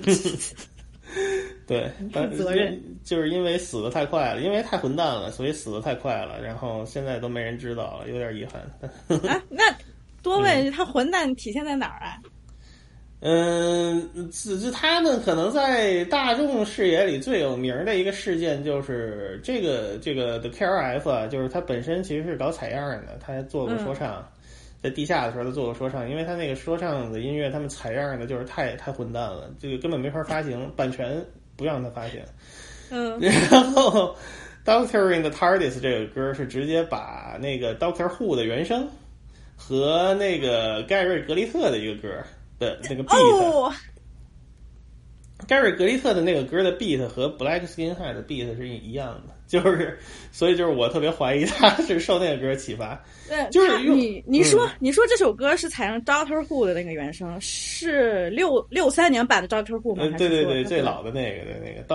对， 责任就是因为死得太快了，因为太混蛋了，所以死得太快了，然后现在都没人知道了，有点遗憾。 啊，那多问他混蛋体现在哪儿啊？ 他们可能在大众视野里最有名的一个事件就是这个的 KLF 啊，就是他本身其实是搞采样的，他做过说唱，在地下的时候他做过说唱，因为他那个说唱的音乐他们采样的就是太混蛋了，这个根本没法发行，版权不让他发行。然后 Doctoring the TARDIS 这个歌是直接把那个 Doctor Who 的原声和那个盖瑞格利特的一个歌的那个 beat， 盖瑞格利特的那个歌的 beat 和 Black Skinhead 的 beat 是一样的，所以就是我特别怀疑他是受那个歌启发。 对， 就是你说这首歌是采用 Doctor Who 的那个原声，是63年版的 Doctor Who 吗？ 对，最老的那个哒。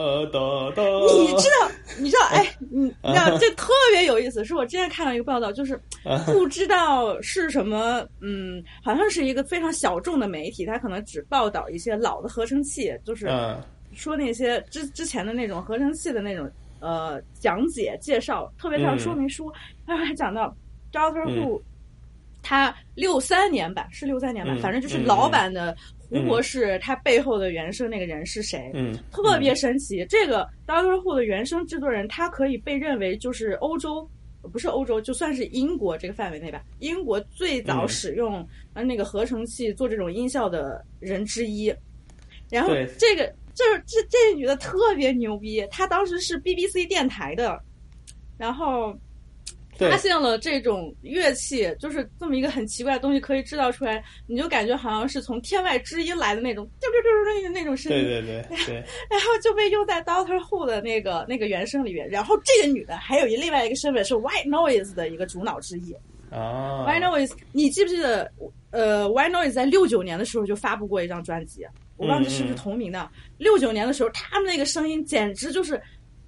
你知道，哎，你知道这特别有意思，是我之前看到一个报道，就是不知道是什么，好像是一个非常小众的媒体，它可能只报道一些老的合成器，就是说那些之前的那种合成器的那种讲解介绍，特别像说明书，他还讲到 Doctor Who，他63年版，反正就是老版的胡博士，他背后的原声那个人是谁？特别神奇。这个 Doctor Who 的原声制作人，他可以被认为就是不是欧洲，就算是英国这个范围内吧，英国最早使用那个合成器做这种音效的人之一。然后这个就是这女的特别牛逼，她当时是 BBC 电台的，然后发现了这种乐器，就是这么一个很奇怪的东西可以制造出来，你就感觉好像是从天外之音来的那种那种声音。对。然后就被用在 Doctor Who 的那个原声里面。然后这个女的还有另外一个身份是 White Noise 的一个主脑之一。White Noise， 你记不记得White Noise 在69年的时候就发布过一张专辑，我忘记是不是同名的。69年的时候，他们那个声音简直就是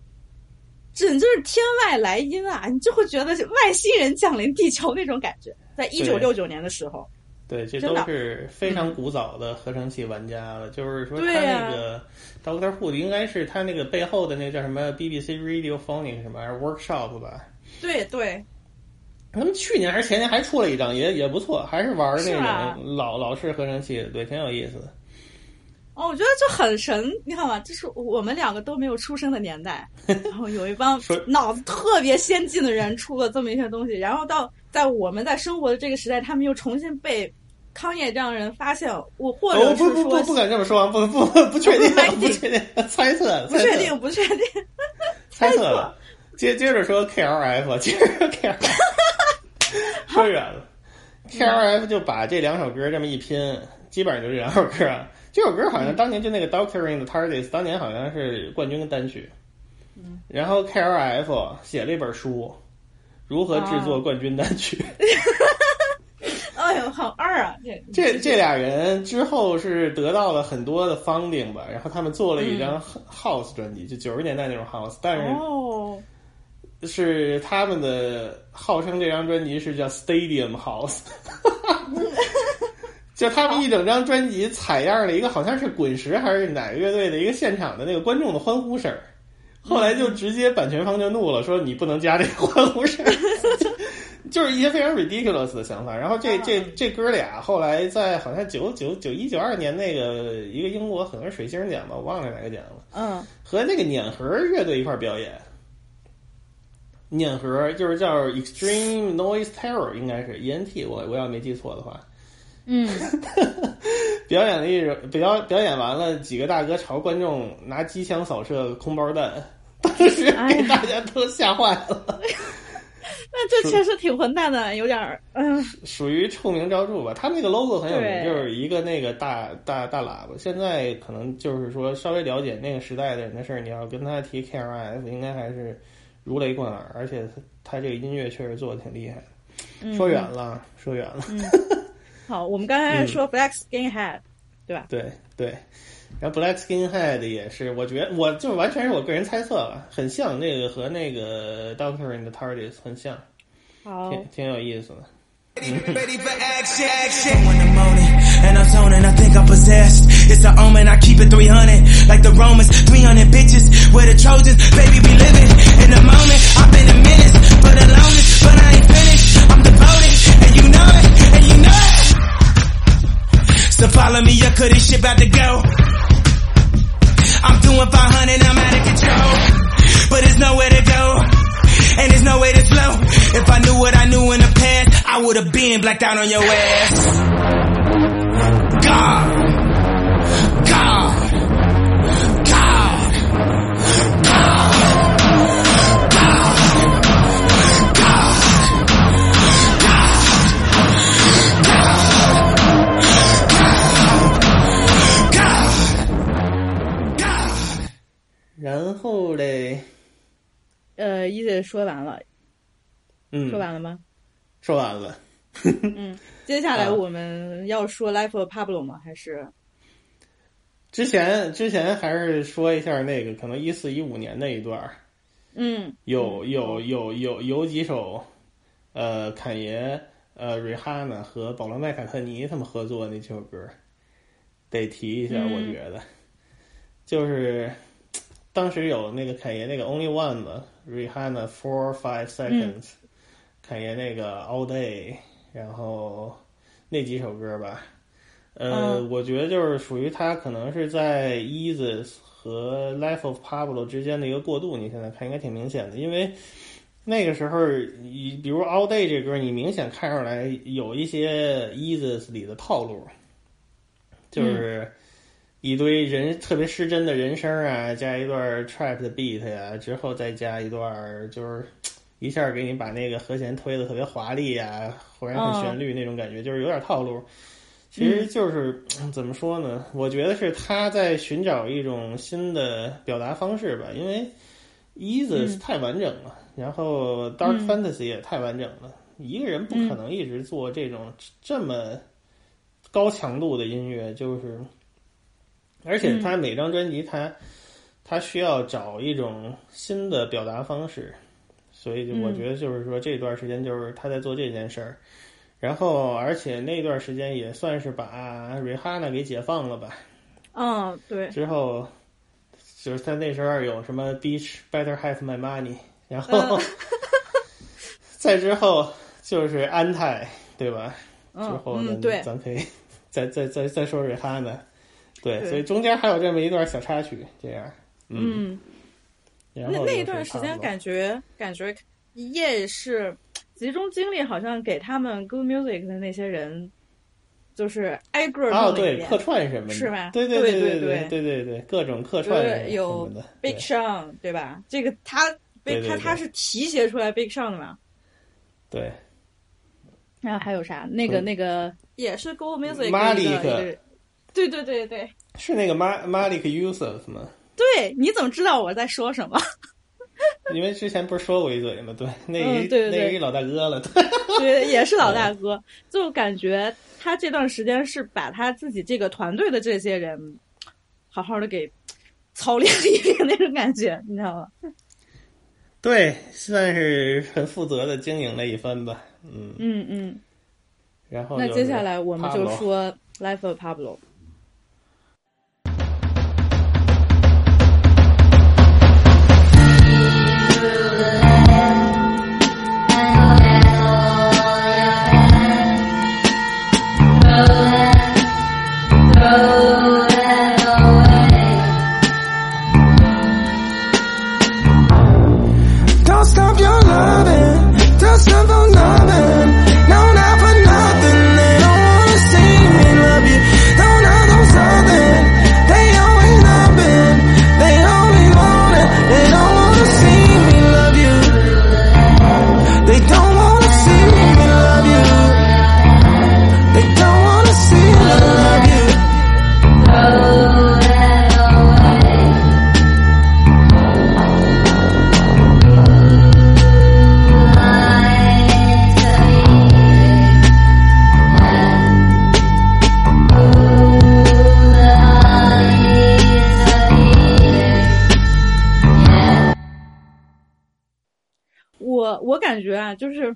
天外来音啊！你就会觉得外星人降临地球那种感觉。在1969年的时候， 对，这都是非常古早的合成器玩家了。就是说，他那个 Doctor Who 应该是他那个背后的那个叫什么 BBC Radiophonic 什么 Workshop 吧？ 对。 他们去年还是前年还出了一张，也不错，还是玩那种老式合成器的，对，挺有意思的。 我觉得就很神，你看嘛，这是我们两个都没有出生的年代，然后有一帮脑子特别先进的人出了这么一些东西，然后在我们在生活的这个时代，他们又重新被康业这样的人发现，或者是说不敢这么说，不确定，猜测， 不确定， 猜测了。接着说 KLF， 接着 KLF， 说远了。KLF 就把这两首歌这么一拼，基本上就这两首歌啊。这首歌好像当年就那个 Doctoring the TARDIS， 当年好像是冠军单曲。然后 KLF 写了一本书，如何制作冠军单曲。 哎呦，好二啊！ 这俩人之后是得到了很多的 funding 吧，然后他们做了一张 house 专辑，就90年代那种 house， 但是是他们的号称这张专辑是叫 Stadium House。就他们一整张专辑采样了一个好像是滚石还是哪个乐队的一个现场的那个观众的欢呼声，后来就直接版权方就怒了，说你不能加这个欢呼声。就是一些非常 ridiculous 的想法。然后这哥俩后来在好像91、92年那个一个英国可能是水星奖吧，我忘了哪个奖了。和那个碾核乐队一块表演。碾核就是叫 Extreme Noise Terror， 应该是 ENT， 我要没记错的话。表演完了，几个大哥朝观众拿机枪扫射空包弹， 当时给大家都吓坏了。 那这确实挺混蛋的，有点属于臭名昭著吧。他们那个 logo 很有名，就是一个那个大喇叭。现在可能就是说稍微了解那个时代的人的事儿，你要跟他提 KRF， 应该还是如雷贯耳，而且他这个音乐确实做的挺厉害的。说远了。 好，我们刚才说 Black Skinhead，对吧？ 对。然后 Black Skinhead 也是，我觉得我就完全是我个人猜测了，很像那个和那个 Doctor in the TARDIS 很像， 好， 挺有意思的。 Ready for action. In the morning, and I'm zoning. I think I'm possessed. It's an omen. I keep it 300, like the Romans. 300 bitches, we're the Trojans. Baby, we living in the moment. I've been a menace for the longest, but I ain't finished. I'm devoted, and you know it, and you know it. So follow me up, 'cause this shit about to go. I'm doing 500, I'm out of control, but there's nowhere to go, and there's no way to flow. If I knew what I knew in the past, I would have been blacked out on your ass. God. 然后嘞， 一姐说完了，说完了吗？ 说完了。 接下来我们要说 Life of Pablo 吗？还是之前还是说一下那个可能14-15年那一段。有几首坎爷瑞哈娜和保罗麦卡特尼他们合作的那几首歌得提一下，我觉得就是当时有那个坎爷那个 Only One 嘛，瑞哈娜 4-5 Seconds，坎爷那个 All Day， 然后那几首歌吧，我觉得就是属于他可能是在 Yeezus 和 Life of Pablo 之间的一个过渡，你现在看应该挺明显的，因为那个时候比如 All Day 这歌，你明显看出来有一些 Yeezus 里的套路，就是一堆人特别失真的人声啊，加一段 trap 的 beat 呀，之后再加一段就是一下给你把那个和弦推得特别华丽啊，忽然很旋律那种感觉，就是有点套路。其实就是怎么说呢，我觉得是他在寻找一种新的表达方式吧，因为 Yeezus 太完整了，然后 Dark Fantasy 也太完整了，一个人不可能一直做这种这么高强度的音乐，就是而且他每张专辑他需要找一种新的表达方式，所以我觉得就是说这段时间就是他在做这件事儿，然后而且那段时间也算是把瑞哈娜给解放了吧。 对。之后就是他那时候有什么 Beach Better Have My Money， 然后再之后就是安泰，对吧？之后呢，咱可以再说瑞哈娜。对，所以中间还有这么一段小插曲，这样，然后那一段时间感觉也是集中精力，好像给他们 Good Music 的那些人，就是挨个弄对，客串什么的， 是吧？ 对，各种客串什么的， 有 Big Sean 对吧？这个他是提携出来 Big Sean 的嘛？ 对。 然后还有啥？那个也是 Good Music 马里克。对， 是那个Malik Yusuf 吗？ 对，你怎么知道我在说什么？ 因为之前不是说过一嘴吗？对，那一老大哥了， 对，也是老大哥。就感觉他这段时间是把他自己这个团队的这些人好好的给操练了一遍那种感觉，你知道吗？ 对，算是很负责的经营了一番吧。然后那接下来我们就说 Life of Pablo。 Don't 我感觉啊，就是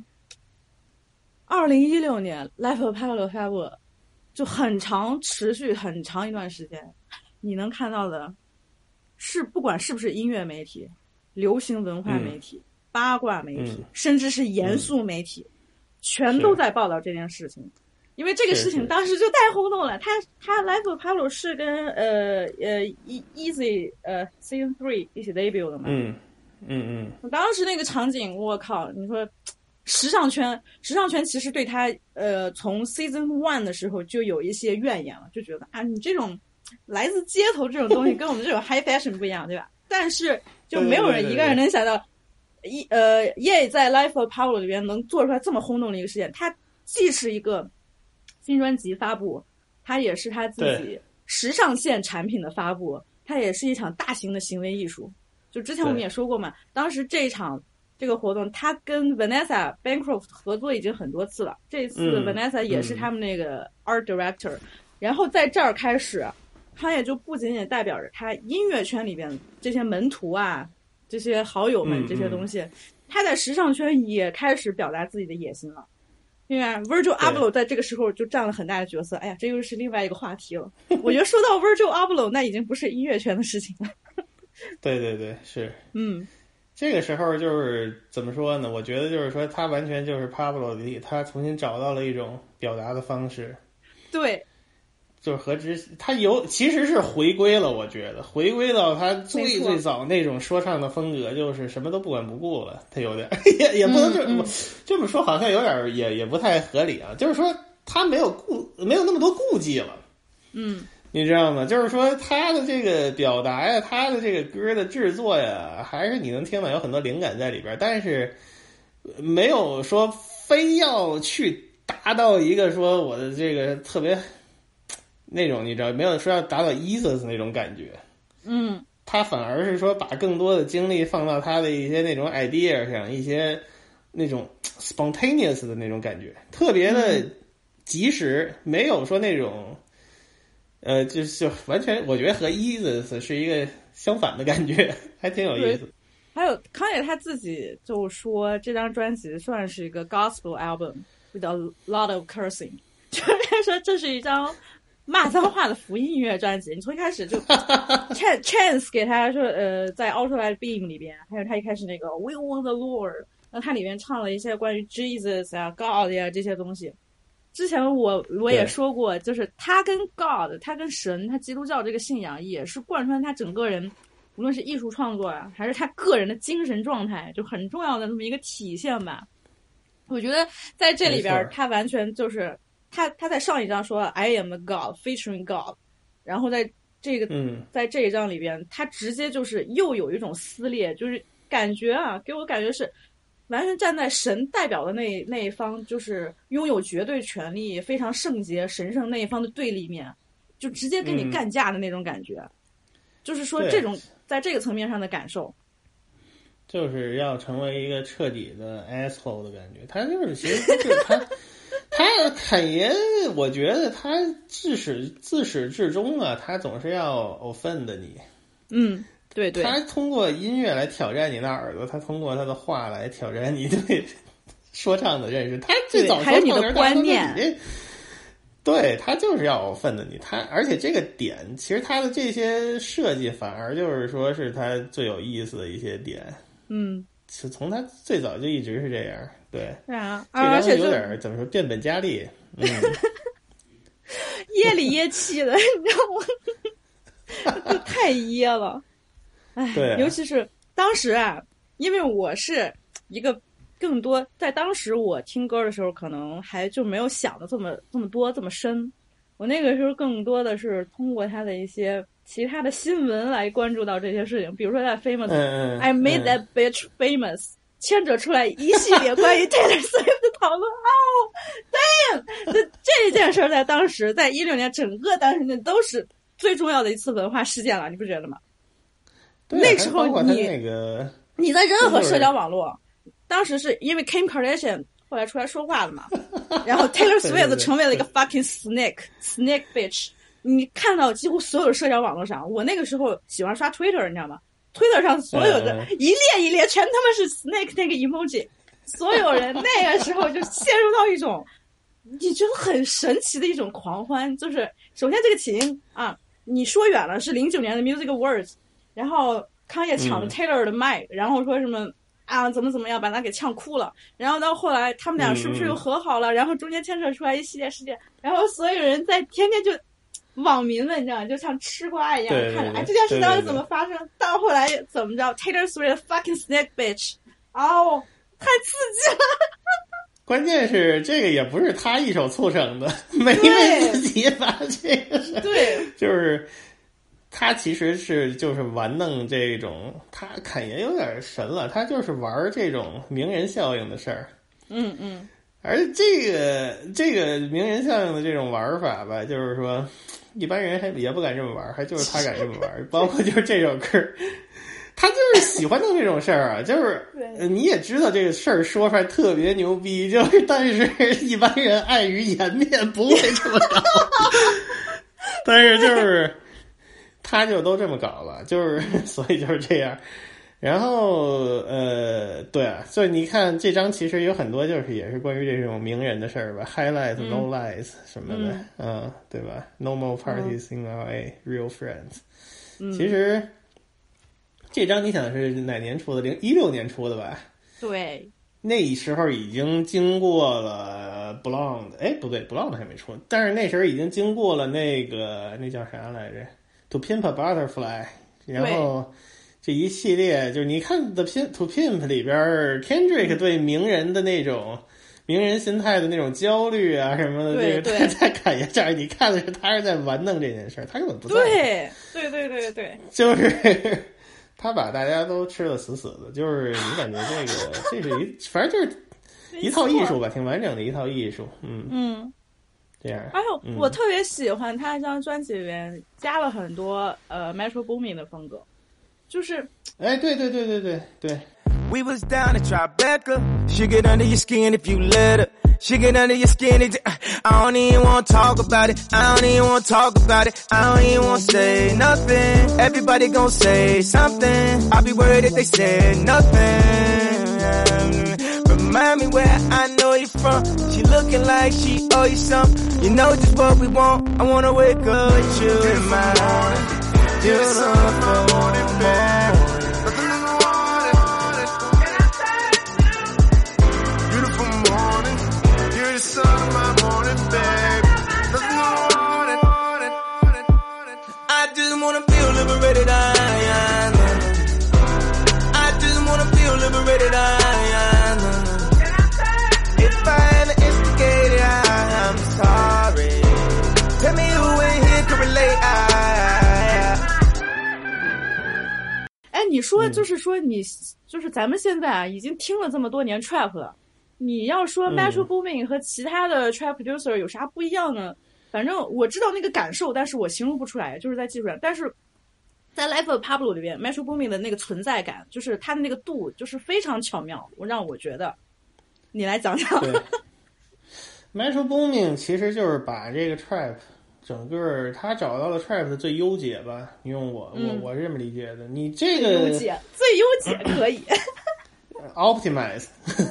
2016年 Life of Pablo Fabo 就很长，持续很长一段时间，你能看到的是不管是不是音乐媒体、流行文化媒体、八卦媒体，甚至是严肃媒体，全都在报道这件事情。因为这个事情当时就太轰动了，他 Life of Pablo 是跟Easy Season 3一起 debut 的嘛。当时那个场景，我靠，你说时尚圈其实对他从 Season 1的时候就有一些怨言了，就觉得啊，你这种来自街头这种东西跟我们这种 high fashion 不一样，对吧？但是就没有人一个人能想到Ye 在 Life of Pablo 里边能做出来这么轰动的一个事件。它既是一个新专辑发布，它也是他自己时尚线产品的发布，它也是一场大型的行为艺术。就之前我们也说过嘛，当时这个活动，他跟 Vanessa Bancroft 合作已经很多次了。这次 Vanessa 也是他们那个 art director，然后在这儿开始，他也就不仅仅代表着他音乐圈里边这些门徒啊、这些好友们这些东西，他在时尚圈也开始表达自己的野心了。因为 Virgil Abloh 在这个时候就占了很大的角色。哎呀，这又是另外一个话题了。我觉得说到 Virgil Abloh， 那已经不是音乐圈的事情了。 对对对，是。这个时候就是怎么说呢？我觉得就是说，他完全就是 Pablo 里，他重新找到了一种表达的方式。 对， 就是他其实是回归了，我觉得回归到他最早那种说唱的风格，就是什么都不管不顾了。他有点也不能这么说，好像有点也不太合理啊。就是说他没有那么多顾忌了。你知道吗？就是说他的这个表达呀，他的这个歌的制作呀，还是你能听到有很多灵感在里边，但是没有说非要去达到一个说我的这个特别那种，你知道，没有说要达到 Yeezus 那种感觉。他反而是说把更多的精力放到他的一些那种 idea 上，一些那种 spontaneous 的那种感觉，特别的及时，没有说那种。就完全，我觉得和 Yeezus 是一个相反的感觉，还挺有意思。 还有康也他自己就说，这张专辑算是一个 gospel album with a lot of cursing， 就是说这是一张骂脏话的福音音乐专辑。你从一开始就Chance 给他说，在 Ultralight Beam 里边，还有他一开始那个 We Want the Lord， 那他里面唱了一些关于 Jesus 啊、God 呀这些东西。之前我也说过，就是他跟 God， 他跟神，他基督教这个信仰也是贯穿他整个人，无论是艺术创作啊，还是他个人的精神状态，就很重要的那么一个体现吧。我觉得在这里边，他完全就是他在上一章说 I am a God featuring God， 然后在这一章里边，他直接就是又有一种撕裂，就是感觉啊，给我感觉是。完全站在神代表的那一方，就是拥有绝对权力、非常圣洁、神圣那一方的对立面，就直接跟你干架的那种感觉。就是说，这种在这个层面上的感受， 就是要成为一个彻底的 asshole 的感觉。他就是其实就是他侃爷，我觉得他自始至终啊，他总是要 offend 你。 对对， 他通过音乐来挑战你的耳朵，他通过他的话来挑战你对说唱的认识。他最早还有你的观念， 对，他就是要分的你。而且这个点，其实他的这些设计反而就是说是他最有意思的一些点。是从他最早就一直是这样。对， 而且有点怎么说变本加厉。 噎里噎气的，你知道吗？就太噎了。 对， 尤其是当时啊，因为我是一个更多在当时我听歌的时候，可能还就没有想的这么多这么深。我那个时候更多的是通过他的一些其他的新闻来关注到这些事情，比如说在 Famous，I made that bitch famous， 牵扯出来一系列关于 Taylor Swift 的讨论。damn， 这件事在当时，在16年整个当时那都是最重要的一次文化事件了，你不觉得吗？那时候你在任何社交网络，当时是因为 Kim Kardashian 后来出来说话了嘛，然后 Taylor Swift 成为了一个 fucking snake bitch。你看到几乎所有的社交网络上，我那个时候喜欢刷 Twitter， 你知道吗？Twitter 上所有的一列一列全他妈是 snake 那个 emoji， 所有人那个时候就陷入到一种你觉得很神奇的一种狂欢。就是首先这个起因啊，你说远了是09年的 Music Awards， 然后康也抢了 Taylor 的麦，然后说什么啊怎么样把他给呛哭了，然后到后来他们俩是不是又和好了，然后中间牵扯出来一系列事件，然后所有人在天天就网民们你知道就像吃瓜一样看着，哎这件事到底怎么发生，到后来怎么着 Taylor Swift fucking snake bitch， 哦太刺激了。 关键是这个也不是他一手促成的，梅梅自己把这个事， 对， 就是他其实是就是玩弄这种，他侃爷有点神了，他就是玩这种名人效应的事儿。而这个名人效应的这种玩法吧，就是说一般人还也不敢这么玩，还就是他敢这么玩，包括就是这首歌。他就是喜欢弄这种事儿啊，就是你也知道这个事儿说出来特别牛逼，就是但是一般人碍于颜面不会这么搞，但是就是他就都这么搞了，就是所以就是这样。然后对啊，所以你看这张其实有很多就是也是关于这种名人的事儿吧 ，highlights no lies 什么的，对吧 ？No more parties in LA, real friends。其实。这张你想是哪年出的？16年出的吧？ 对， 那时候已经经过了 Blonde， 哎，不对 ，Blonde 还没出，但是那时候已经经过了那叫啥来着 ？To Pimp a Butterfly， 然后这一系列就是你看 To Pimp 里边 Kendrick 对名人的那种名人心态的那种焦虑啊什么的，这个在侃爷这儿，你看的是他是在玩弄这件事儿，他根本不在。 对， 就是。他把大家都吃得死死的，就是你感觉这是反正就是一套艺术吧，挺完整的一套艺术，这样。 还有我特别喜欢他这张专辑里面加了很多Metro Boomin 的风格，就是哎，对。 We was down at Tribeca. She get under your skin if you let her. She get under your skin. I don't even want to talk about it. I don't even want to talk about it. I don't even want to say nothing. Everybody gon' say something. I'll be worried if they say nothing. Remind me where I know you from. She looking like she owe you something. You know just what we want. I wanna wake up with you in my morning. Beautiful morning. Liberated, I just wanna feel liberated, If I ever instigated, I'm sorry. Tell me who in here can relate, 哎，你说就是说你就是咱们现在啊，已经听了这么多年 trap 了，你要说 Metro Boomin 和其他的 trap producer 有啥不一样呢？反正我知道那个感受，但是我形容不出来，就是在技术上，但是。在 Life of Pablo 里边 Metro Boomin 的那个存在感，就是他的那个度就是非常巧妙，让我觉得你来讲讲。 对Metro Boomin 其实就是把这个 trap 整个他找到了 trap 的最优解吧，你用我是这么理解的，你这个最优解可以 optimize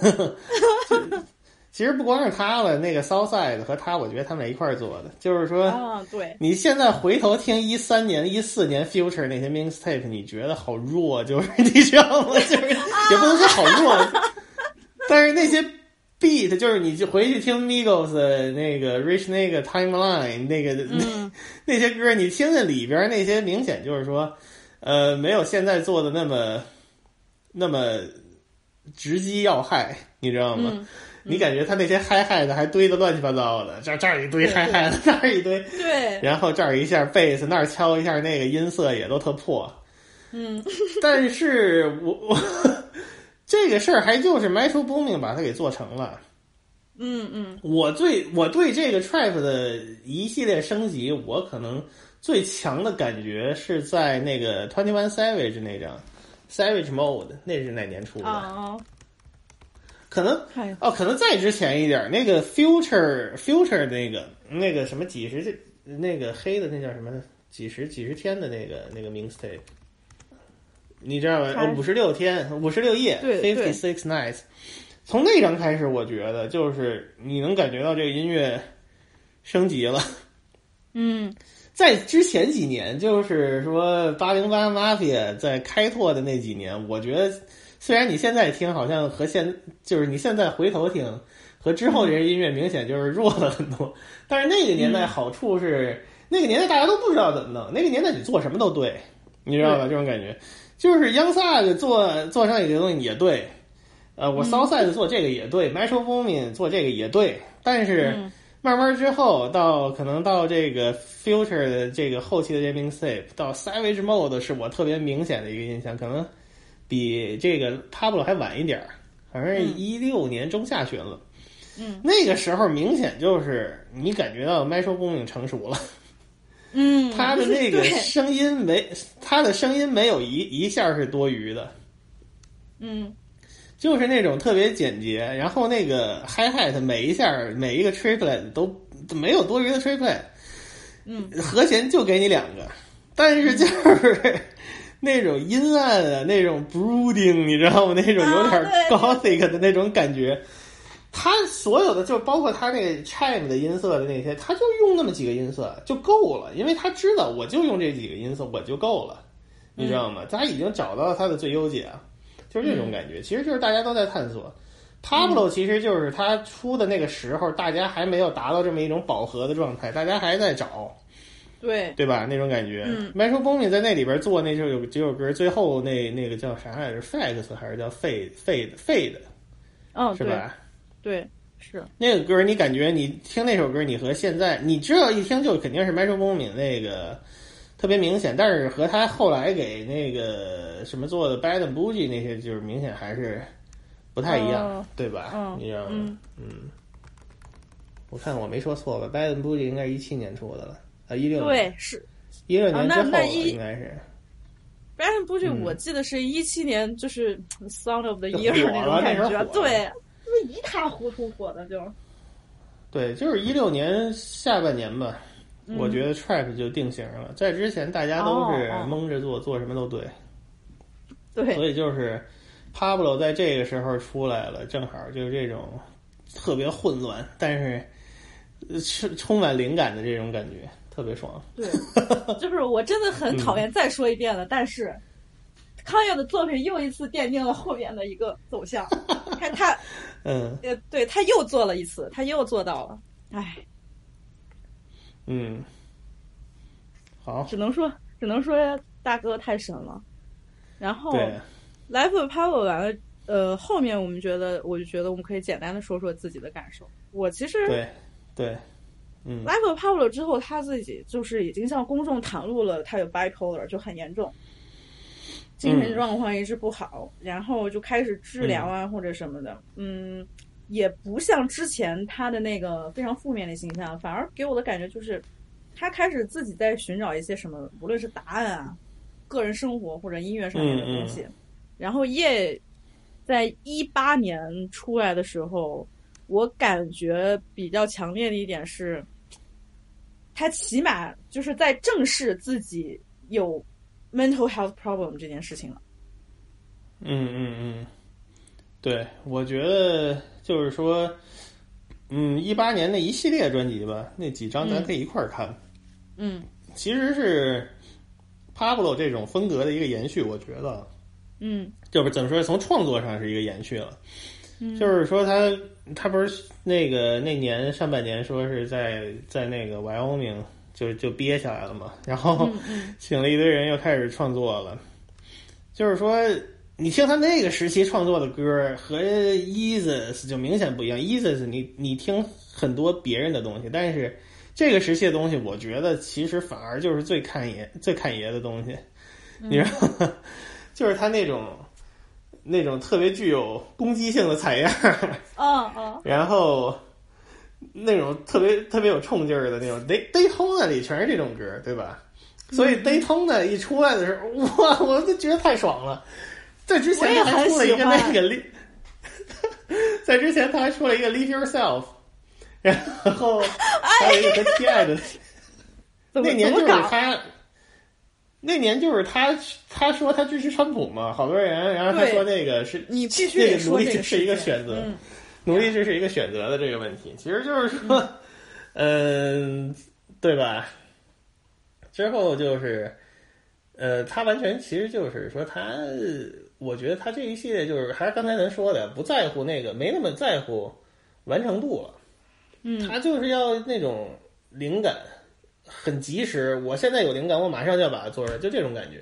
其实不光是他了，那个 Southside 和他，我觉得他们俩一块儿做的，就是说， 对， 你现在回头听13年、14年 Future 那些 mixtape， 你觉得好弱，就是你知道吗？就是也不能说好弱，但是那些 beat， 就是你就回去听 Migos 那个 Rich 那个 Timeline 那个、那些歌，你听听里边那些，明显就是说，没有现在做的那么直击要害，你知道吗？你感觉他那些嗨的还堆得乱七八糟的，这儿一堆嗨的，那儿一堆， 对， 然后这儿一下贝斯，那儿敲一下，那个音色也都特破，但是我这个事儿还就是 Metro Boomin 把它给做成了，我对这个 trap 的一系列升级，我可能最强的感觉是在那个 21 Savage 那张 Savage Mode， 那是哪年出的？可能再之前一点，那个 Future 那个什么几十那个黑的那叫什么几十天的那个 mixtape， 你知道吗？56天56夜 56 nights， 从那张开始，我觉得就是你能感觉到这个音乐升级了。在之前几年，就是说808 Mafia 在开拓的那几年，我觉得虽然你现在听好像和就是你现在回头听和之后这些音乐明显就是弱了很多，但是那个年代好处是，那个年代大家都不知道怎么弄，那个年代你做什么都对，你知道吧？这种感觉就是 Young Thug 做上一个东西也对，我 Southside 做这个也对，Metro Boomin 做这个也对，但是慢慢之后可能到这个 Future 的这个后期的这 mixtape 到 Savage Mode 是我特别明显的一个印象，可能比这个 Pablo 还晚一点，好像是16年中下旬了。那个时候明显就是你感觉到 Metro Boomin 成熟了。他的那个声音没有一下是多余的。就是那种特别简洁，然后那个 hi-hat 每一个 triplet 都没有多余的 triplet，和弦就给你2个，但是就是那种阴暗啊，那种 brooding， 你知道吗？那种有点 gothic 的那种感觉。他所有的就包括他那个 chime 的音色的那些，他就用那么几个音色就够了，因为他知道我就用这几个音色我就够了，你知道吗？他已经找到了他的最优解。就是这种感觉，其实就是大家都在探索。Pablo 其实就是他出的那个时候，大家还没有达到这么一种饱和的状态，大家还在找，对吧？那种感觉。Metro Boomin 在那里边做那有几首歌，最后那个叫啥来着 ？Facts 还是叫 Fade？ 是吧？ 对，是那个歌，你感觉你听那首歌，你和现在你知道一听就肯定是 Metro Boomin 那个。特别明显，但是和他后来给那个什么做的 Bad and Bougie 那些，就是明显还是不太一样，对吧？你知道吗？我看我没说错吧 ？Bad and Bougie 应该是17年出的了，16年。 对，是 16年之后了，应该是。 Bad and Bougie 我记得是17年，就是 Sound of the Year 那种感觉，对，一塌糊涂火的就。 对，就是16年下半年吧。我觉得 trap 就定型了，在之前大家都是蒙着做什么都对，所以就是 Pablo 在这个时候出来了，正好就是这种特别混乱，但是充满灵感的这种感觉，特别爽。 对，就是我真的很讨厌再说一遍了，但是康岳的作品又一次奠定了后面的一个走向。看他，对他又做了一次，他又做到了，哎。 好， 只能说大哥太神了。然后 Life of Pablo 完了，后面我就觉得我们可以简单的说说自己的感受。我其实对 Life of Pablo 之后，他自己就是已经向公众袒露了他有 bipolar， 就很严重，精神状况一直不好，然后就开始治疗啊或者什么的，也不像之前他的那个非常负面的形象，反而给我的感觉就是他开始自己在寻找一些什么，无论是答案啊、个人生活或者音乐上面的东西。然后在18年出来的时候，我感觉比较强烈的一点是，他起码就是在正视自己有 mental health problem 这件事情了。 对，我觉得就是说，18年那一系列专辑吧，那几张咱可以一块儿看。其实是 Pablo 这种风格的一个延续，我觉得。就是怎么说，从创作上是一个延续了。就是说他不是那年上半年说是在那个 Wyoming 就憋下来了嘛，然后请了一堆人又开始创作了。就是说你听他那个时期创作的歌和 Yeezus 就明显不一样。Yeezus 你听很多别人的东西，但是这个时期的东西，我觉得其实反而就是最看爷的东西，你知道吗？就是他那种特别具有攻击性的采样，然后那种特别有冲劲儿的那种 Daytona 里全是这种歌，对吧？所以 Daytona 一出来的时候，哇，我就觉得太爽了。在之前他还出了一个那个在之前他还出了一个 Leave Yourself， 然后还有一个和 T.I. 的那年就是他。 那年就是他说他支持川普嘛，好多人，然后他说那个是你必须得说奴隶制是一个选择，奴隶制是一个选择的这个问题，其实就是说，对吧？之后就是，他完全其实就是说我觉得他这一系列就是还是刚才咱说的，不在乎那个，没那么在乎完成度了，他就是要那种灵感。很及时，我现在有灵感，我马上就要把它做出来，就这种感觉。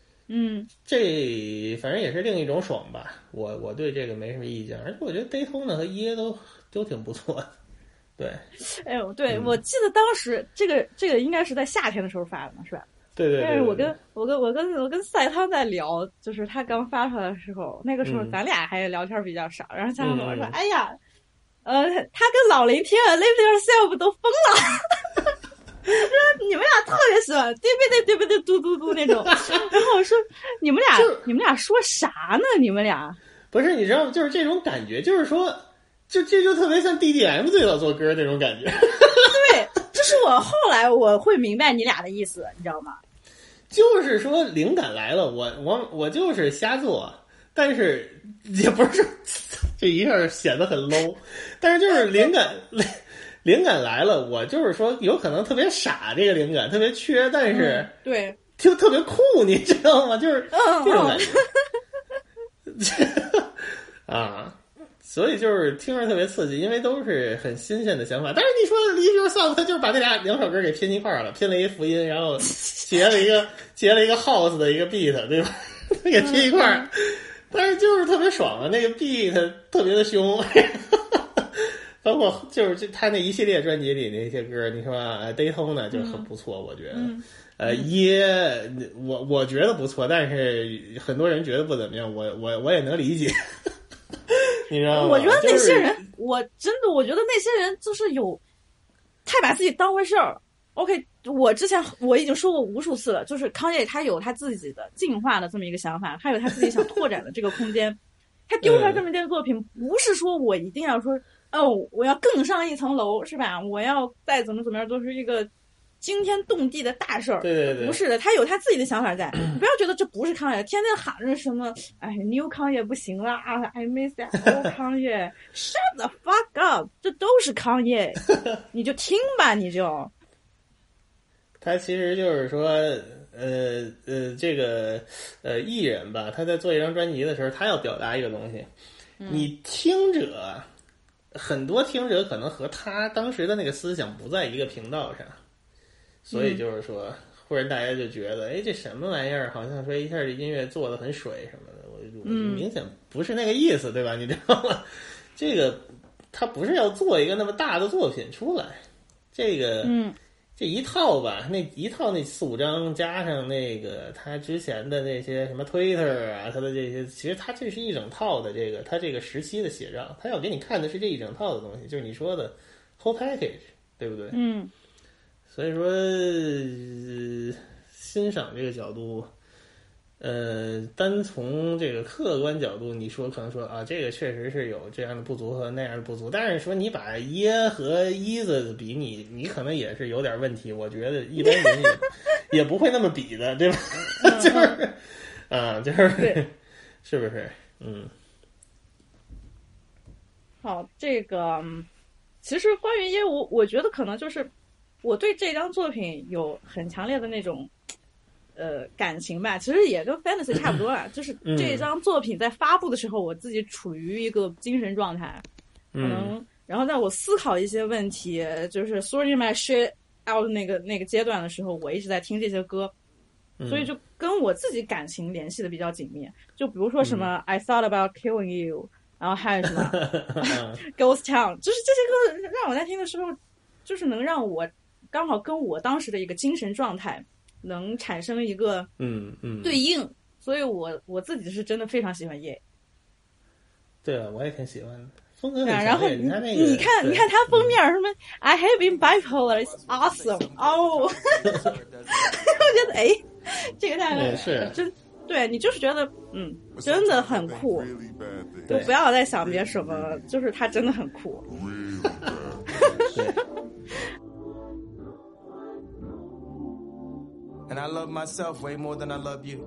这反正也是另一种爽吧。我对这个没什么意见，而且我觉得 Daytona 和耶都挺不错的。对， 哎呦，对，我记得当时这个应该是在夏天的时候发的嘛，是吧？ 对对。 但是我跟赛汤在聊，就是他刚发出来的时候，那个时候咱俩还聊天比较少，然后赛汤跟我说：“哎呀，他跟老雷天 Live Yourself 都疯了。”说你们俩特别喜欢对不对嘟嘟嘟那种，然后我说你们俩说啥呢？你们俩不是你知道吗？就是这种感觉，就是说，这就特别像 DDM 最早做歌那种感觉。 对，这是我后来我会明白你俩的意思，你知道吗？ 就是说灵感来了，我就是瞎做，但是也不是这一下显得很 low， 但是就是灵感来了，我就是说有可能特别傻，这个灵感特别缺，但是对， 就特别酷，你知道吗？就是这种感觉啊，所以就是听着特别刺激，因为都是很新鲜的想法。但是你说 Live Yourself， 他就是把这两首歌给拼一块了，拼了一个福音，然后结了一个 house 的一个 beat， 对吧？给拼一块，但是就是特别爽啊，那个 beat 特别的凶。包括就是他那一系列专辑里那些歌，你说Daytona 就很不错，我觉得。我觉得不错，但是很多人觉得不怎么样，我也能理解。你知道吗？ 我觉得那些人，我觉得那些人就是太把自己当回事儿。OK， 我已经说过无数次了，就是康业他有他自己的进化的这么一个想法，他有他自己想拓展的这个空间。他丢出来这么一件作品，不是说我一定要说我要更上一层楼，是吧？我要再怎么样，都是一个惊天动地的大事儿。 对， 不是的，他有他自己的想法在。你不要觉得这不是康业，天天喊着什么，New 康业不行了啊 ，I miss that old 康业，shut the fuck up， 这都是康业，你就听吧，你就。 他其实就是说，这个艺人吧，他在做一张专辑的时候，他要表达一个东西，你听者。很多听者可能和他当时的那个思想不在一个频道上，所以就是说，忽然大家就觉得，这什么玩意儿？好像说一下这音乐做的很水什么的，我明显不是那个意思，对吧？你知道吗？这个他不是要做一个那么大的作品出来，这个这一套吧，那4、5张加上那个他之前的那些什么 Twitter 啊，他的这些，其实他这是一整套的他这个时期的写照，他要给你看的是这一整套的东西，就是你说的 whole package， 对不对？所以说欣赏这个角度，单从这个客观角度，你说可能说啊，这个确实是有这样的不足和那样的不足，但是说你把耶和伊子比你可能也是有点问题，我觉得一般人也不会那么比的，对吧？就是就是是不是？ 好，这个其实关于耶，我觉得可能就是我对这张作品有很强烈的那种。感情吧，其实也跟 Fantasy 差不多啦。就是这张作品在发布的时候，我自己处于一个精神状态，可能，然后在我思考一些问题，就是 sorting my shit out 那个阶段的时候，我一直在听这些歌，所以就跟我自己感情联系的比较紧密。就比如说什么I thought about killing you， 然后还有什么Ghost Town， 就是这些歌让我在听的时候，就是能让我刚好跟我当时的一个精神状态。能产生一个对应，所以我自己是真的非常喜欢耶。 对啊，我也挺喜欢的，风格很强烈。 然后你看那个， 你看它封面什么 I have been bipolar, it's awesome 我觉得这个太是真，对你就是觉得真的很酷，就不要再想别什么，就是它真的很酷。 And I I love myself way more than I love you.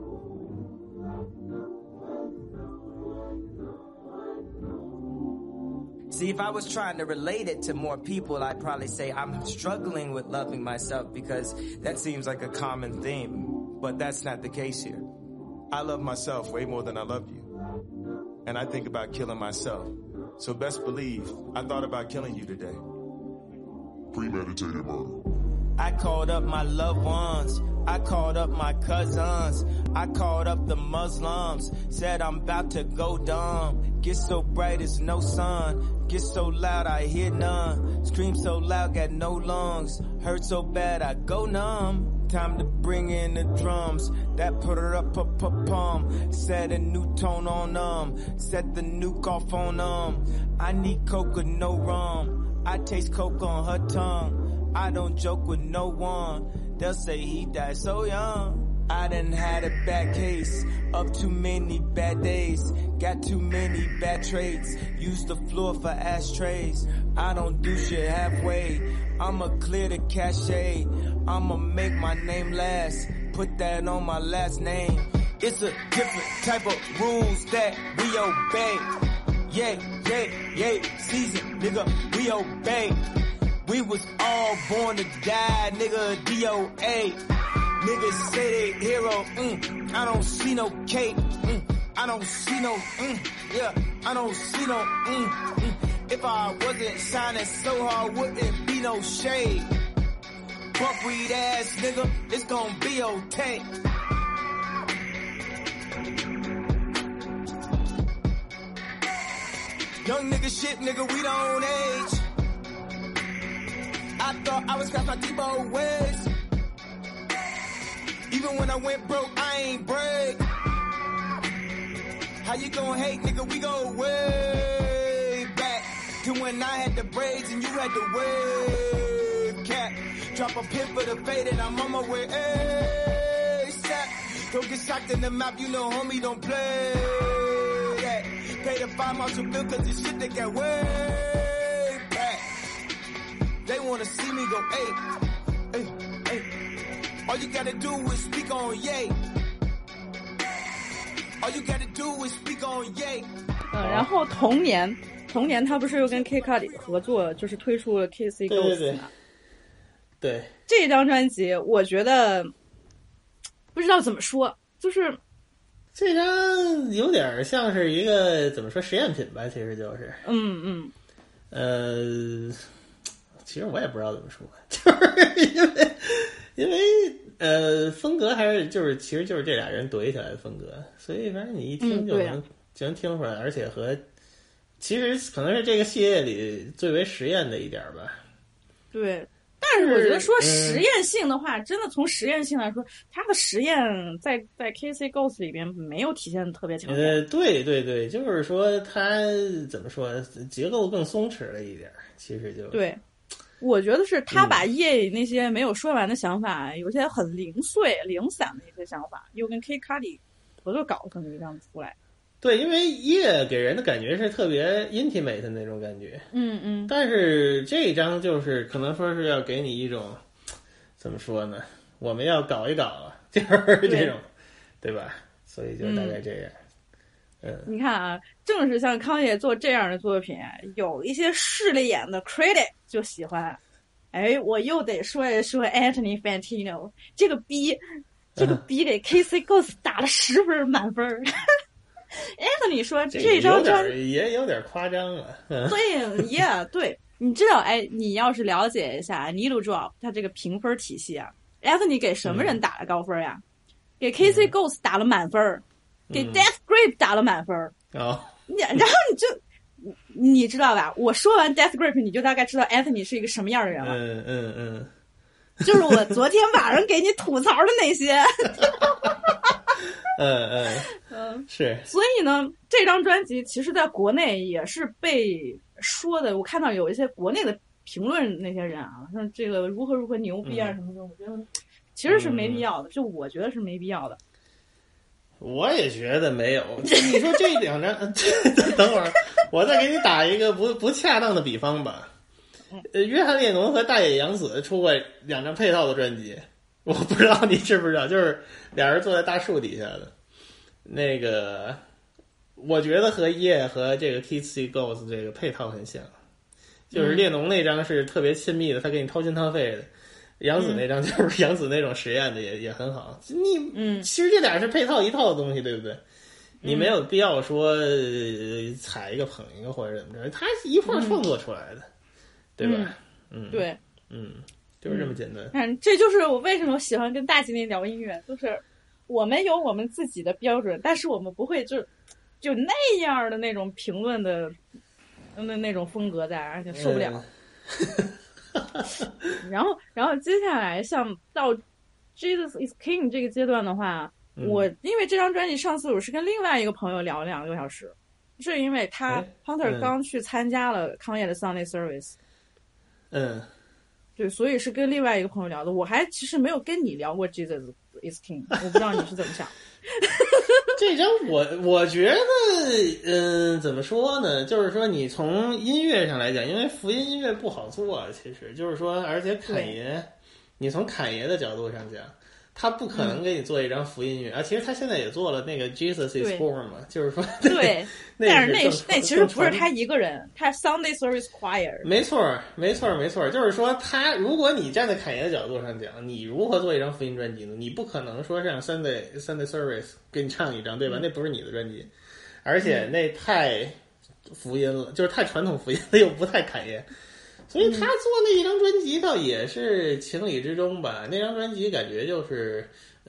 See, if I was trying to relate it to more people, I'd probably say I'm struggling with loving myself because that seems like a common theme. But that's not the case here. I love myself way more than I love you. And I think about killing myself. So best believe I thought about killing you today. Premeditated murder. I called up my loved ones. I called up my cousins. I called up the Muslims. Said I'm about to go dumb. Get so bright it's no sun. Get so loud I hear none. Scream so loud got no lungs. Hurt so bad I go numb. Time to bring in the drums. That put her up, pum. Set a new tone on set the nuke off on I need coke with no rum. I taste coke on her tongue. I don't joke with no one. They'll say he died so young. I done had a bad case of too many bad days. Got too many bad traits. Use the floor for ashtrays. I don't do shit halfway. I'ma clear the cachet. I'ma make my name last. Put that on my last name. It's a different type of rules that we obey. Yeah. Season, nigga, we obey. We was all born to die, nigga, DOA. Niggas say they hero, I don't see no cake, I don't see no, I don't see no, If I wasn't shining so hard, wouldn't be no shade. Buckwheat ass nigga, it's gonna be okay. Young nigga shit, nigga, we don't age. I thought I was scratch my Debo ways. Even when I went broke, I ain't break. How you gon' hate, nigga? We go way back to when I had the braids and you had the wave cap. Drop a pin for the fade and I'm on my way. ASAP. Don't get shocked in the map, you know, homie, don't play that. Pay the 5 months of bill cause this shit they got way back. They wanna see me go, hey. All you gotta do is speak on yay. All you gotta do is speak on yay. 然后同年他不是又跟 K-Cut 合作，就是推出了 KC Ghost 嘛？ 对， 这张专辑我觉得不知道怎么说，就是这张有点像是一个怎么说实验品吧，其实就是，其实我也不知道怎么说，就是因为风格还是就是其实就是这俩人怼起来的风格，所以反正你一听就能听出来，而且和其实可能是这个系列里最为实验的一点吧。对， 但是我觉得说实验性的话，真的从实验性来说，它的实验在 KC Ghost 里边没有体现的特别强烈。 对，就是说它怎么说，结构更松弛了一点，其实就对。我觉得是他把夜那些没有说完的想法，有些很零碎、零散的一些想法，又跟 K-Cudi 合作搞成一个这样出来。 对，因为夜给人的感觉是特别 intimate 的那种感觉，但是这一张就是可能说是要给你一种怎么说呢？我们要搞一搞，就是这种，对吧？所以就大概这样。 你看啊，正是像康业做这样的作品，有一些势利眼的 critic 就喜欢。哎，我又得说一说 Anthony Fantino 这个逼给 KC Ghost 打了10分满分。Anthony 说这张专也有点夸张了。 对，对，你知道，哎，你要是了解一下 Needle Drop 他这个评分体系啊 ，Anthony 给什么人打了高分呀？给 KC Ghost 打了满分。给 Death Grip 打了满分然后你知道吧？我说完 Death Grip， 你就大概知道 Anthony 是一个什么样的人了。就是我昨天晚上给你吐槽的那些。 是。 所以呢，这张专辑其实在国内也是被说的，我看到有一些国内的评论那些人啊，像这个如何牛逼啊什么的，我觉得其实是没必要的，就我觉得是没必要的。 我也觉得没有。你说这两张，等会儿我再给你打一个不恰当的比方吧。约翰列侬和大野洋子出过2张配套的专辑， 我不知道你知不知道，就是俩人坐在大树底下的那个，我觉得和叶和这个 Kids See Ghosts 这个配套很像，就是列侬那张是特别亲密的，他给你掏心掏肺的。杨紫那张就是杨紫那种实验的也很好，你其实这俩是配套一套的东西，对不对？你没有必要说踩一个捧一个或者怎么着，他一块儿创作出来的，对吧？ 对， 就是这么简单。 这就是我为什么喜欢跟大吉林聊音乐，就是我们有我们自己的标准，但是我们不会就那样的那种评论的那种风格在，而且受不了。然后接下来像到 Jesus is King 这个阶段的话，我因为这张专辑上次我是跟另外一个朋友聊了2个多小时，是因为他 Hunter 刚去参加了康业的 Sunday Service， 对，所以是跟另外一个朋友聊的。我还其实没有跟你聊过 Jesus is King， 我不知道你是怎么想。 这张我觉得，怎么说呢？就是说，你从音乐上来讲，因为福音音乐不好做，其实就是说，而且侃爷，你从侃爷的角度上讲，他不可能给你做一张福音乐啊。其实他现在也做了那个 Jesus is Born 嘛，就是说， 对，但是那其实不是他一个人，他 Sunday Service Choir。 没错，就是说他，如果你站在侃爷的角度上讲，你如何做一张福音专辑呢？你不可能说让 Sunday Service 给你唱一张，对吧？那不是你的专辑，而且那太福音了，就是太传统福音了，又不太侃爷。所以他做那一张专辑倒也是情理之中吧。那张专辑感觉就是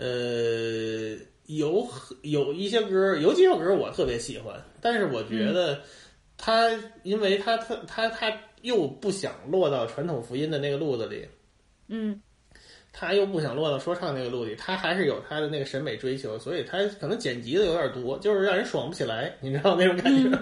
有一些歌，有几首歌我特别喜欢，但是我觉得他因为他又不想落到传统福音的那个路子里，他又不想落到说唱那个路里，他还是有他的那个审美追求，所以他可能剪辑的有点多，就是让人爽不起来，你知道那种感觉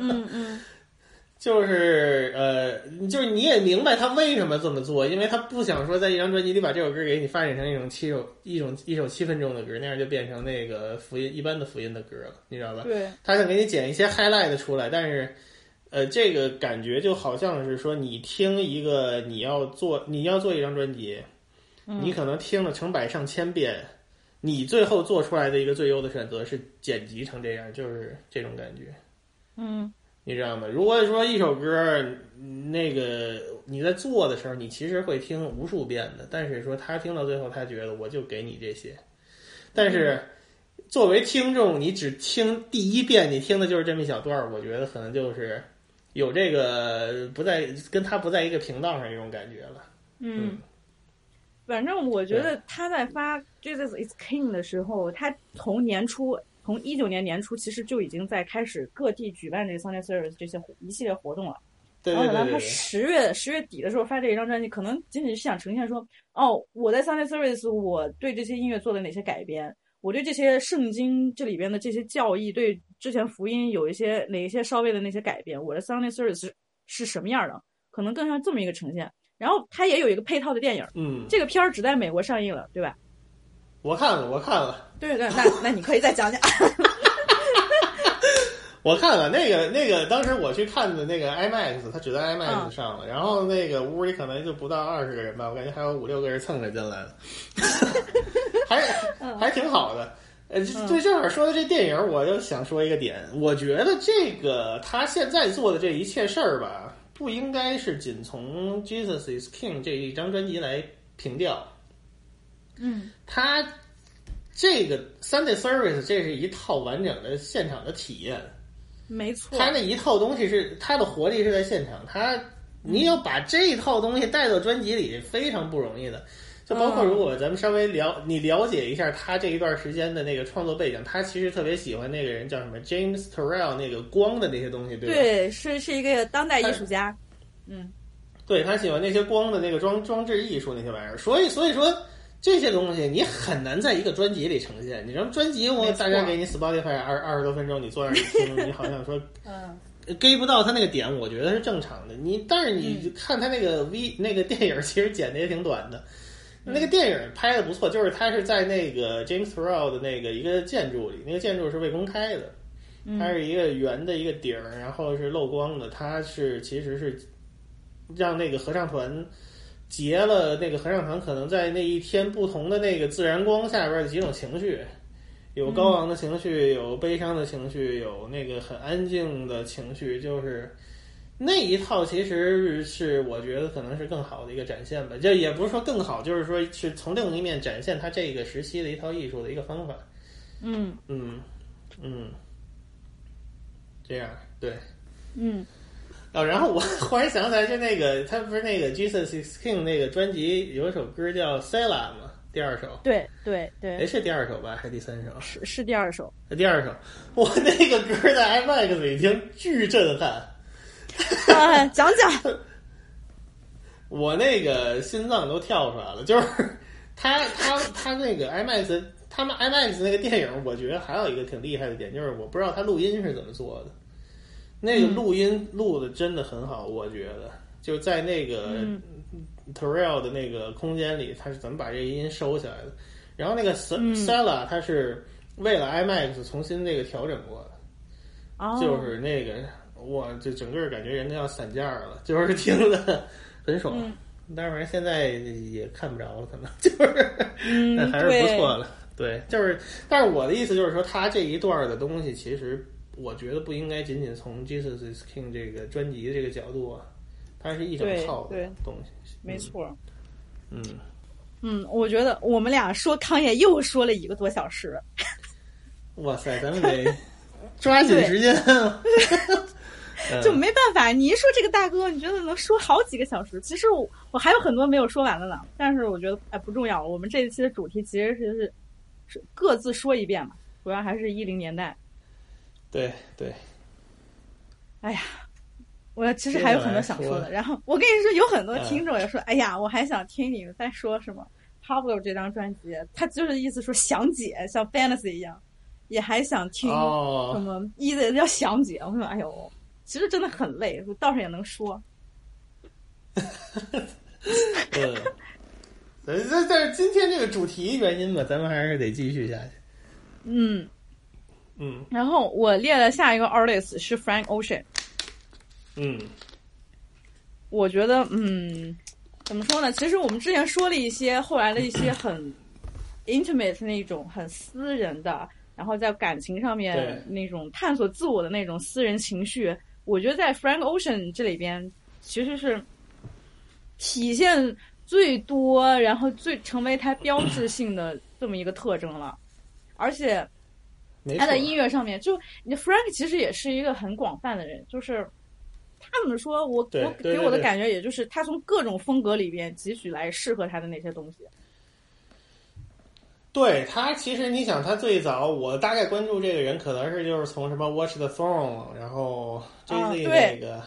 就是就是你也明白他为什么这么做，因为他不想说在一张专辑里把这首歌给你发展成一首7分钟的歌，那样就变成那个福音一般的福音的歌了，你知道吧？ 对， 他想给你剪一些 highlight 出来，但是这个感觉就好像是说你听一个你要做一张专辑，你可能听了成百上千遍，你最后做出来的一个最优的选择是剪辑成这样，就是这种感觉。你知道吗？如果说一首歌，那个你在做的时候，你其实会听无数遍的，但是说他听到最后，他觉得我就给你这些。但是作为听众，你只听第一遍，你听的就是这么一小段，我觉得可能就是有这个跟他不在一个频道上这种感觉了。 反正我觉得他在发 Jesus is King 的时候，他从19年年初其实就已经在开始各地举办这个 Sunday Service 这些一系列活动了。 对。 然后等到他10月底的时候发这一张专辑，可能仅仅是想呈现说，我在 Sunday Service 我对这些音乐做了哪些改编，我对这些圣经这里边的这些教义，对之前福音有哪一些稍微的那些改编，我的 Sunday Service 是什么样的，可能更像这么一个呈现。然后他也有一个配套的电影，这个片儿只在美国上映了，对吧？ 我看了。对， 那你可以再讲讲。 我看了那个，当时我去看的那个 IMAX， 它只在 IMAX 上了，然后那个屋里可能就不到20个人吧，我感觉还有5-6个人蹭着进来了，还挺好的。对，正好说的这电影，我就想说一个点，我觉得这个他现在做的这一切事儿吧，不应该是仅从 Jesus is King 这一张专辑来评调。他这个 Sunday Service 这是一套完整的现场的体验， 没错。 他那一套东西是他的活力是在现场，你要把这一套东西带到专辑里非常不容易的。就包括如果咱们稍微你了解一下他这一段时间的那个创作背景，他其实特别喜欢那个人叫什么 James Turrell 那个光的那些东西，对吧？ 对，是一个当代艺术家。 对，他喜欢那些光的那个装置艺术那些玩意儿，所以说。这些东西你很难在一个专辑里呈现。你说专辑我大概给你 Spotify 20多分钟，你坐那儿一听，你好像说get 不到他那个点，我觉得是正常的。但是你看他那个那个电影，其实剪的也挺短的。那个电影拍的不错，就是他是在那个 James Turrell 的那个一个建筑里，那个建筑是未公开的，它是一个圆的一个顶，然后是漏光的。它其实是让那个合唱团结了那个合唱团可能在那一天不同的那个自然光下边的几种情绪，有高昂的情绪，有悲伤的情绪，有那个很安静的情绪，就是那一套其实是我觉得可能是更好的一个展现吧，就也不是说更好，就是说是从另一面展现他这个时期的一套艺术的一个方法。这样对。然后我忽然想起来，就那个他不是那个 Jesus is King 那个专辑有一首歌叫 Sela 吗？第二首。 对， 是第二首吧，还是第三首？ 是第二首。 第二首，我那个歌在 IMAX 里听巨震撼。 讲讲。 我那个心脏都跳出来了，就是他那个 IMAX， 他们 IMAX 那个电影，我觉得还有一个挺厉害的点，就是我不知道他录音是怎么做的。那个录音录的真的很好，我觉得就在那个 Terrell 的那个空间里，他是怎么把这个音收起来的。然后那个 Sela 他是为了 IMAX 重新这个调整过的，就是那个哇，就整个感觉人都要散架了，就是听的很爽。当然现在也看不着了，可能就是但还是不错了。对，就是但是我的意思就是说，他这一段的东西其实我觉得不应该仅仅从 Jesus is King 这个专辑的这个角度啊，它是一整套的东西。 没错。我觉得我们俩说康也又说了1个多小时。 哇塞，咱们得抓紧时间。 就没办法，你一说这个大哥，你觉得能说好几个小时。其实我还有很多没有说完的呢，但是我觉得不重要了。我们这一期的主题其实是各自说一遍嘛，主要还是10年代。 对。 哎呀，我其实还有很多想说的。然后我跟你说，有很多听众也说，哎呀，我还想听你们在说什么 Pablo 这张专辑，他就是意思说详解，像 Fantasy 一样，也还想听什么意思要详解。我说，哎呦，其实真的很累，倒是也能说。 但是今天这个主题原因吧，咱们还是得继续下去。 然后我列了下一个 artist 是 Frank Ocean。我觉得怎么说呢？其实我们之前说了一些，后来的一些很 intimate 那种很私人的，然后在感情上面那种探索自我的那种私人情绪，我觉得在 Frank Ocean 这里边其实是体现最多，然后最成为他标志性的这么一个特征了。而且他的音乐上面，就你 Frank 其实也是一个很广泛的人，就是他怎么说，我给我的感觉也就是他从各种风格里边汲取来适合他的那些东西。 对，他其实你想，他最早我大概关注这个人，可能是就是从什么 Watch the Throne， 然后 Jay-Z 那个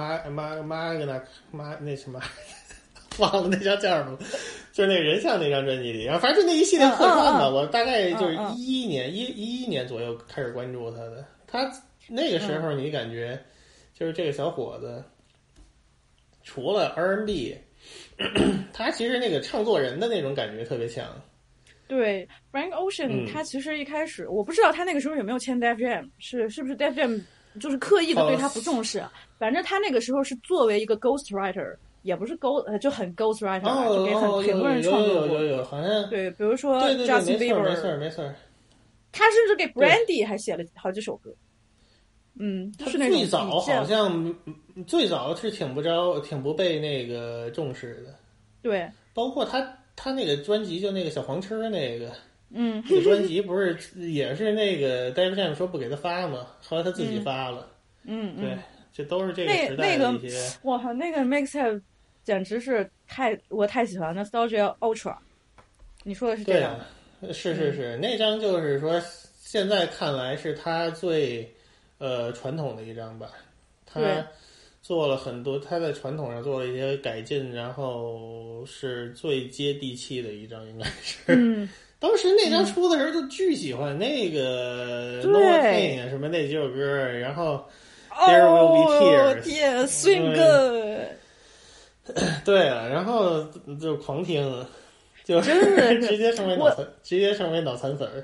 那什么忘了那张叫什么，就是那个人像那张专辑里，然后反正就那一系列客串吧，我大概就是11年左右开始关注他的。他那个时候你感觉就是这个小伙子，除了 R&B， 他其实那个唱作人的那种感觉特别强。 对 Frank Ocean，他其实一开始我不知道他那个时候有没有签 Def Jam， 是不是 Def Jam 就是刻意的对他不重视，反正他那个时候是作为一个 ghost writer， 也不是就很 ghost writer， 就给很多人创作过。 有好像对，比如说 Justin Bieber， 没错， 他甚至给 Brandy 还写了好几首歌。就是那种最早好像最早是挺不被那个重视的。 对， 包括他那个专辑，就那个小黄车那个，那个专辑不是也是那个 Def Jam 说不给他发吗？后来他自己发了。对，这都是这个时代的一些。 哇，那个 mixtape 简直是我太喜欢 Nostalgia Ultra。你说的是这样？ 对，是，那张就是说现在看来是他最传统的一张吧。他做了很多，他在传统上做了一些改进，然后是最接地气的一张，应该是。当时那张出的时候就巨喜欢那个 No Pain 什么那几首歌，然后 There Will Be Tears， Swing Good。 对啊，然后就狂听，就真的直接成为脑残粉儿。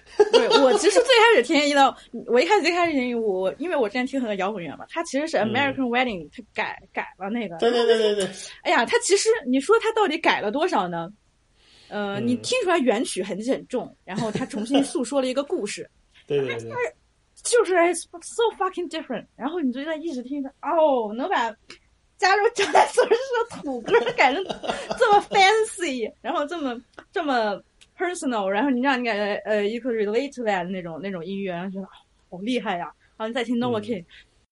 对，我其实最开始听我一开始听因为我之前听很多摇滚乐嘛，他其实是 American Wedding，他改了那个。 对。 哎呀，他其实你说他到底改了多少呢？你听出来原曲痕迹很重，然后他重新诉说了一个故事。 对， 就是 so fucking different。然后你就在一直听着，能把加入张大所是个土歌改成这么 fancy， 然后这么 personal， 然后你让你感觉you could relate to that 那种音乐，然后觉得好厉害呀。然后你再听 Novocaine。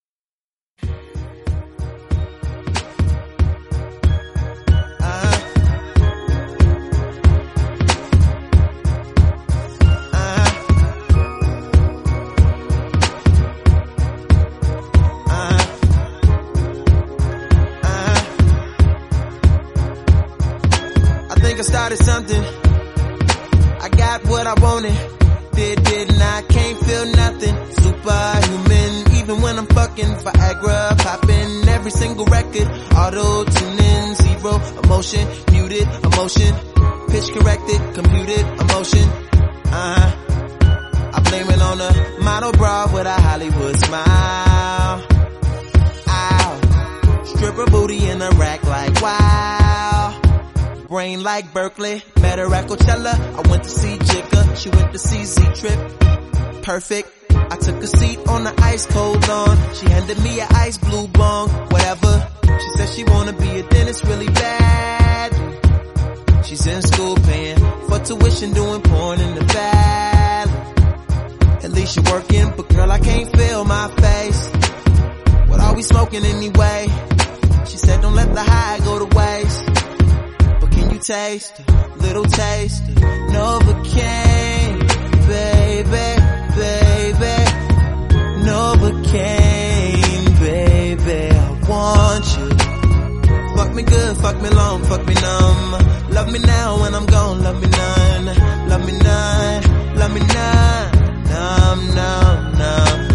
I started something. I got what I wanted. Didn't I? Can't feel nothing. Superhuman, even when I'm fucking Viagra, popping every single record. Auto tuning, zero emotion, muted emotion, pitch corrected, computed emotion. I blame it on a model bra with a Hollywood smile. Ow, stripper booty in a rack like wow. Brain like Berkeley, met her at Coachella. I went to see Jigga, she went to see Z-Trip. Perfect. I took a seat on the ice cold lawn. She handed me an ice blue bong, whatever. She said she wanna be a dentist really bad. She's in school paying for tuition, doing porn in the valley. At least you're working, but girl, I can't feel my face. What are we smoking anyway? She said don't let the high go to waste. Can you taste a little taste of Novocaine, baby, baby, Novocaine, baby, I want you. Fuck me good, fuck me long, fuck me numb. Love me now when I'm gone, love me none, love me none, love me none, numb.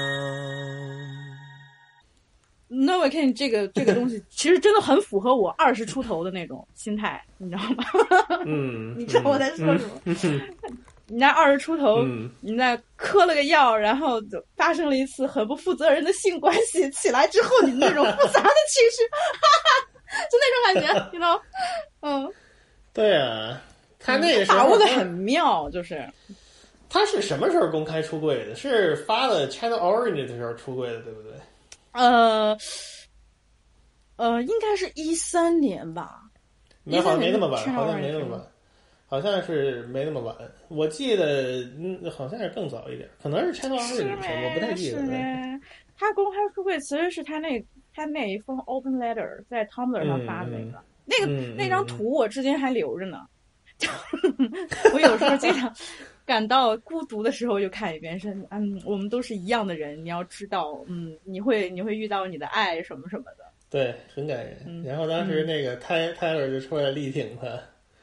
Novocaine 这个东西其实真的很符合我20出头的那种心态，你知道吗？你知道我在说什么？你在20出头，你在嗑了个药，然后就发生了一次很不负责任的性关系，起来之后你那种复杂的情绪，就那种感觉，你知道？ 对啊，他那个时候把握的很妙，就是他是什么时候公开出柜的？是发了 Channel Orange 的时候出柜的，对不对？ 应该是13年吧。 好像没那么晚，好像是没那么晚。我记得好像是更早一点，可能是 Channel Orange 的时候，我不太记得。 他公开出柜其实是他那一封 open letter 在 Tumblr 上发的那张图，我至今还留着呢。我有时候经常感到孤独的时候就看一遍，是我们都是一样的人，你要知道，你会遇到你的爱什么什么的。 对，很感人。然后当时那个Tyler 就出来力挺他，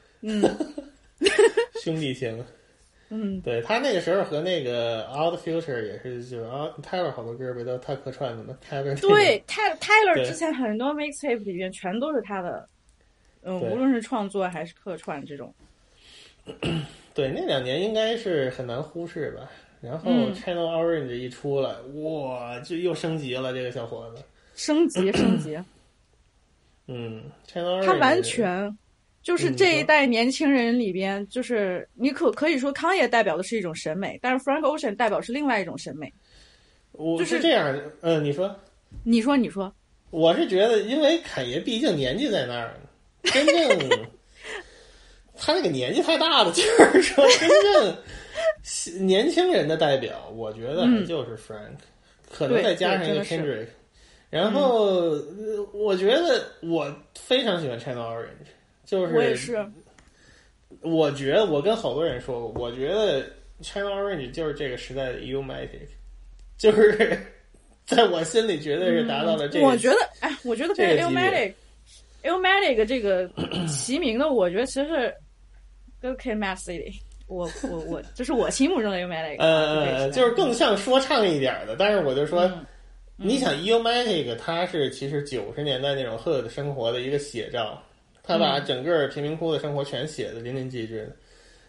兄弟情。对，他那个时候和那个 Out Future 也是，就是Tyler 好多歌不都他客串的吗？ 对，Tyler 之前很多 mixtape 里面全都是他的，无论是创作还是客串这种。 对，那2年应该是很难忽视吧。然后 Channel Orange 一出来，哇，就又升级了，这个小伙子。升级。 Channel Orange 他完全就是这一代年轻人里边，就是你可以说康也代表的是一种审美，但是 Frank Ocean 代表是另外一种审美。 我是这样，你说。 我是觉得，因为侃爷毕竟年纪在那儿，真正他那个年纪太大了，就是说真正年轻人的代表，我觉得就是 Frank，可能再加上一个 Kendrick。然后我觉得我非常喜欢 Channel Orange， 就是我也是。 我觉得我跟好多人说过，我觉得 Channel Orange 就是这个时代的 Illmatic， 就是在我心里绝对是达到了这个。 我觉得跟 Illmatic 这个齐名的，我觉得其实是跟 Kid Mad City。我这是我心目中的 Illmatic。 就是更像说唱一点的，但是我就说。你想 Illmatic 它是其实90年代那种 hood 生活的一个写照，他把整个贫民窟的生活全写的淋漓尽致的。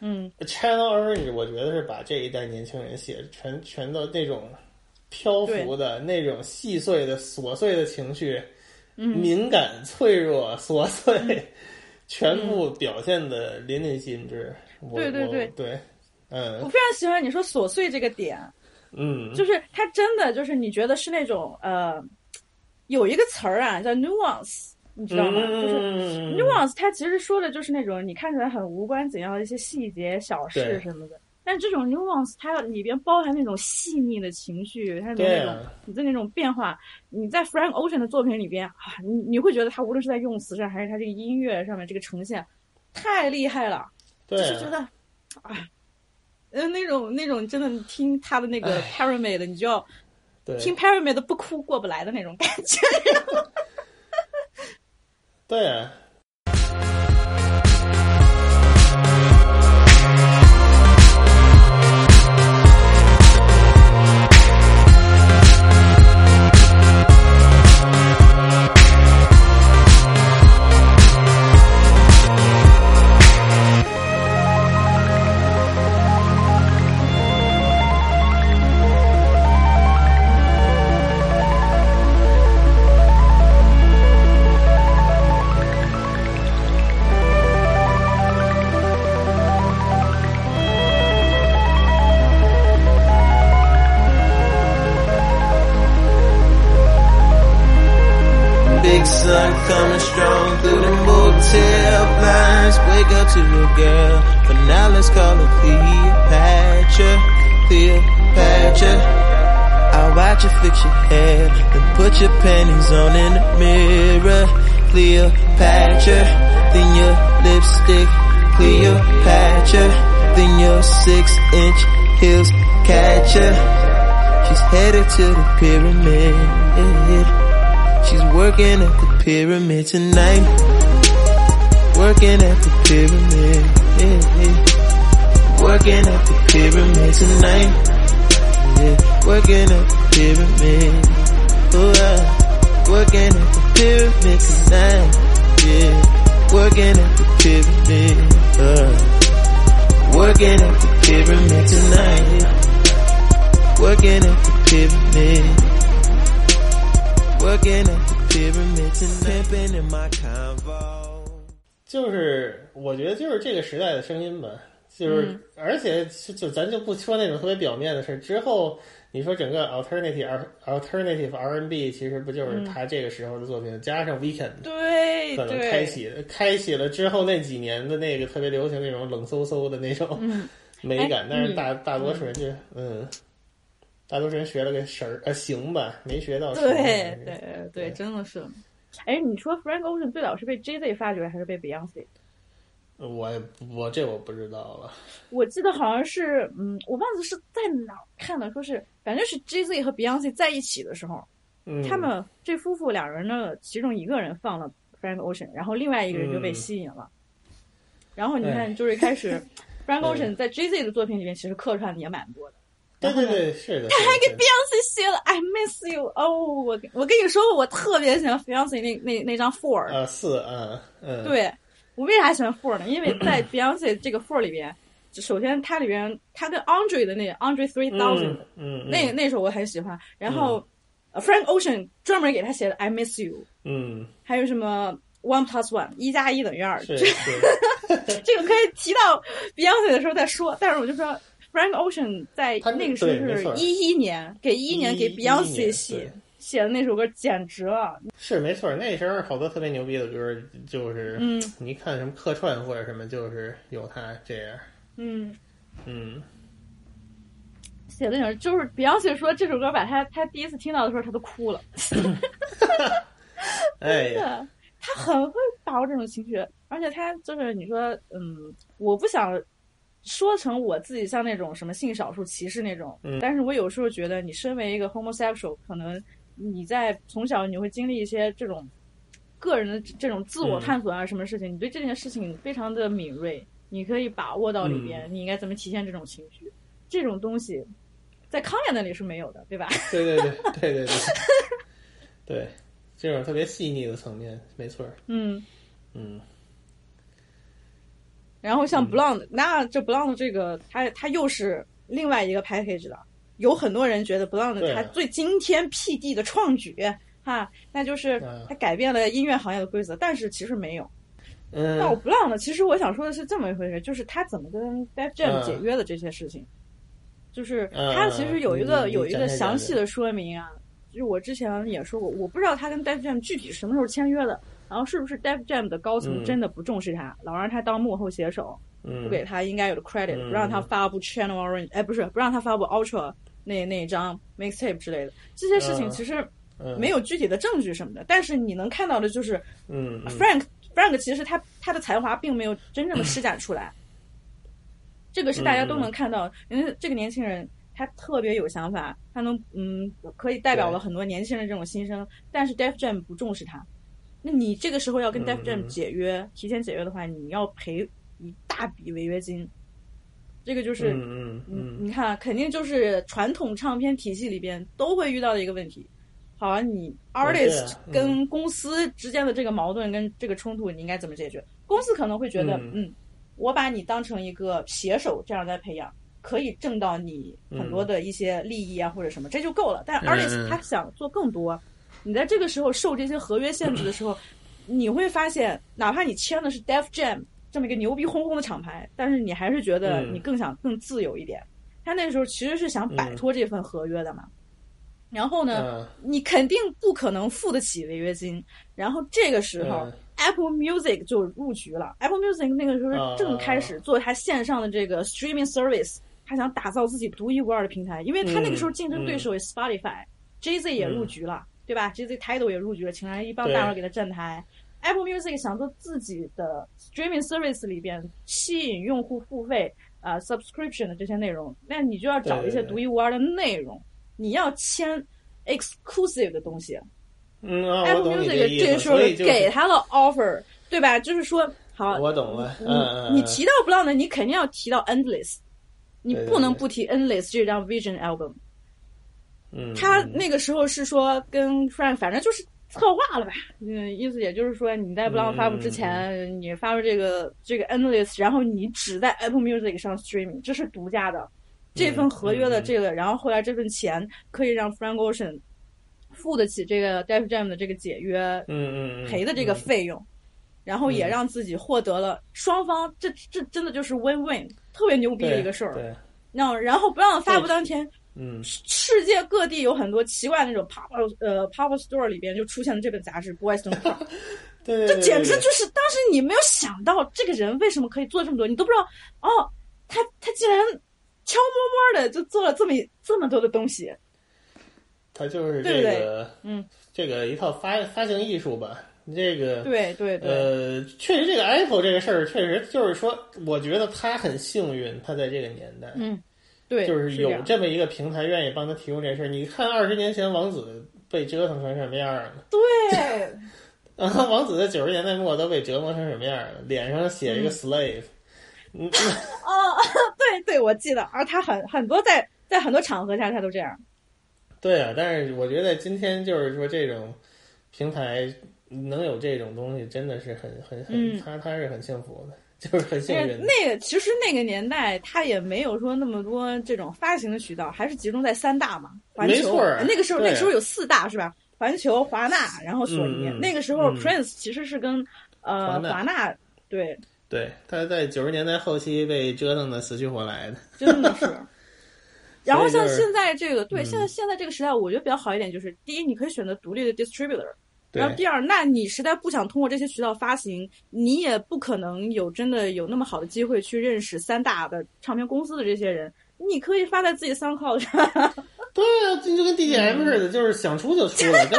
Channel Orange 我觉得是把这一代年轻人写全都那种漂浮的那种细碎的琐碎的情绪，敏感脆弱琐碎，全部表现的淋漓尽致。对， 我非常喜欢你说琐碎这个点，就是它真的就是你觉得是那种有一个词儿啊叫 nuance， 你知道吗？就是 nuance， 它其实说的就是那种你看起来很无关紧要的一些细节小事什么的。但这种 nuance 它里边包含那种细腻的情绪，它的那种你的那种变化，你在 Frank Ocean 的作品里边你会觉得他无论是在用词上还是他这个音乐上面这个呈现太厉害了，就是觉得那种真的听他的那个 Pyramid 你就要听 Pyramid 不哭过不来的那种感觉。 对啊。 Big sun coming strong through the motel blinds. Wake up to your girl, but now let's call her Cleopatra. Cleopatra. I'll watch you fix your hair, then put your panties on in the mirror. Cleopatra. Then your lipstick. Cleopatra. Then your 6-inch heels catch her. She's headed to the pyramid. She's working at the pyramid tonight. Working at the pyramid. Working at the pyramid tonight. Yeah. Working at the pyramid. Oh, working at the pyramid tonight. Yeah. Working at the pyramid. Working at the pyramid tonight. Working at the pyramid. Working at the pyramid tonight. Pimping in my convo. 就是我觉得就是这个时代的声音吧，就是而且就咱就不说那种特别表面的事，之后你说整个 alternative R&B 其实不就是他这个时候的作品，加上 Weekend 对， 可能开启了之后那几年的那个特别流行那种冷飕飕的那种美感，但是大多数人就大多数人学了个行吧，没学到。 对，真的是。哎，你说 Frank Ocean 最早是被 Jay-Z 发掘还是被 Beyonce？ 我这我不知道了。 我记得好像是，我忘记是在哪看的，说是反正是 Jay-Z 和 Beyonce 在一起的时候，他们这夫妇两人呢，其中一个人放了 Frank Ocean， 然后另外一个人就被吸引了。然后你看，就是开始 Frank Ocean 在 Jay-Z 的作品里面其实客串的也蛮多的。 对，是的。 他还给 Beyonce 写了 I Miss You。哦，我跟你说，我特别喜欢 Beyonce 那张 Four。对，我为啥喜欢 Four 呢？因为在 Beyonce 这个 Four 里边，首先它里边它跟 Andre 的那个 Andre 3000，那首我很喜欢。然后Frank Ocean 专门给他写的 I Miss You。还有什么 1+1 1+1等于2。这个可以提到 Beyonce 的时候再说，但是我就说。Frank Ocean 在那个时候是11年给Beyonce 写的那首歌简直了。 是没错，那时候好多特别牛逼的歌，就是你看什么客串或者什么，就是有他这样。 写的那种，就是 Beyonce 说这首歌把他第一次听到的时候他都哭了。真的，他很会把握这种情绪，而且他就是你说我不想说成我自己像那种什么性少数歧视那种，但是我有时候觉得你身为一个 homosexual， 可能你在从小你会经历一些这种个人的这种自我探索啊什么事情，你对这件事情非常的敏锐，你可以把握到里边，你应该怎么体现这种情绪，这种东西在康也那里是没有的，对吧？ 对，对，这种特别细腻的层面，没错。 然后像 Blonde，那这 Blonde 这个它又是另外一个 package 了。有很多人觉得 Blonde 它最惊天辟地的创举哈，那就是它改变了音乐行业的规则，但是其实没有。那我 Blonde 其实我想说的是这么一回事，就是他怎么跟 Def Jam 解约的这些事情，就是他其实有一个详细的说明啊。就是我之前也说过，我不知道他跟 Def Jam 具体什么时候签约的，然后是不是 Def Jam 的高层真的不重视他，老让他当幕后写手，不给他应该有的 credit，不让他发布 Channel Orange， 不让他发布 Ultra 那一张 mixtape 之类的，这些事情其实没有具体的证据什么的，但是你能看到的就是，Frank 其实他的才华并没有真正的施展出来，这个是大家都能看到，因为这个年轻人他特别有想法，他能可以代表了很多年轻人这种心声，但是 Def Jam 不重视他，那你这个时候要跟 Def Jam 解约，提前解约的话，你要赔一大笔违约金，这个就是你看肯定就是传统唱片体系里边都会遇到的一个问题。好啊，你 artist 跟公司之间的这个矛盾跟这个冲突，你应该怎么解决？公司可能会觉得，我把你当成一个写手这样在培养，可以挣到你很多的一些利益啊或者什么，这就够了。但 artist 他想做更多，你在这个时候受这些合约限制的时候，你会发现，哪怕你签的是 Def Jam 这么一个牛逼哄哄的厂牌，但是你还是觉得你更想更自由一点。他那时候其实是想摆脱这份合约的嘛。然后呢，你肯定不可能付得起违约金。然后这个时候，Apple Music 就入局了。Apple Music 那个时候正开始做它线上的这个 streaming service， 他想打造自己独一无二的平台，因为他那个时候竞争对手是 Spotify，Jay-Z 也入局了，对吧 ？Jay-Z Tidal 也入局了，请来一帮大佬给他站台。Apple Music 想做自己的 streaming service 里边吸引用户付费subscription 的这些内容，那你就要找一些独一无二的内容。你要签 exclusive 的东西，Apple Music 这个时候给他了 offer， 对吧？就是说，好， 我懂了。 你提到 Blonde， 你肯定要提到 Endless， 你不能不提 Endless 这张 Vision album。他那个时候是说跟 Frank 反正就是策划了吧，意思也就是说你在 Blonde 发布之前，你发布这个 Endless， 然后你只在 Apple Music 上 streaming， 这是独家的。这份合约的这个，然后后来这份钱可以让 Frank Ocean 付得起这个 Def Jam 的这个解约赔的这个费用，然后也让自己获得了双方这真的就是 win-win， 特别牛逼的一个事儿。然后不让发布当天，世界各地有很多奇怪的那种 pop store 里边就出现了这本杂志 Boys Don't Cry， 对， 这简直就是当时你没有想到这个人为什么可以做这么多，你都不知道他竟然悄摸摸的就做了这么多的东西， 他就是这个，这个一套发行艺术吧。这个对， 确实这个 Apple 这个事儿，确实就是说，我觉得他很幸运，他在这个年代， 对， 就是有这么一个平台愿意帮他提供这事儿。你看20年前王子被折腾成什么样了？ 对， 王子在90年代末都被折磨成什么样了？脸上写一个 slave。 对，我记得，而他很多在很多场合下他都这样。 对啊，但是我觉得今天就是说这种平台能有这种东西，真的是很他是很幸福的，就是很幸运的。 其实那个年代他也没有说那么多这种发行的渠道，还是集中在3大嘛，环球。 没错， 那个时候有4大是吧？环球、华纳，然后索尼。那个时候 Prince 其实是跟华纳对，他在90年代后期被折腾的死去活来的， 真的是。然后像现在这个，现在这个时代，我觉得比较好一点，就是第一，你可以选择独立的 distributor， 然后第二，那你实在不想通过这些渠道发行，你也不可能真的有那么好的机会去认识3大的唱片公司的这些人，你可以发在自己SoundCloud上。 对啊，就跟 DDM 似的，就是想出就出了，真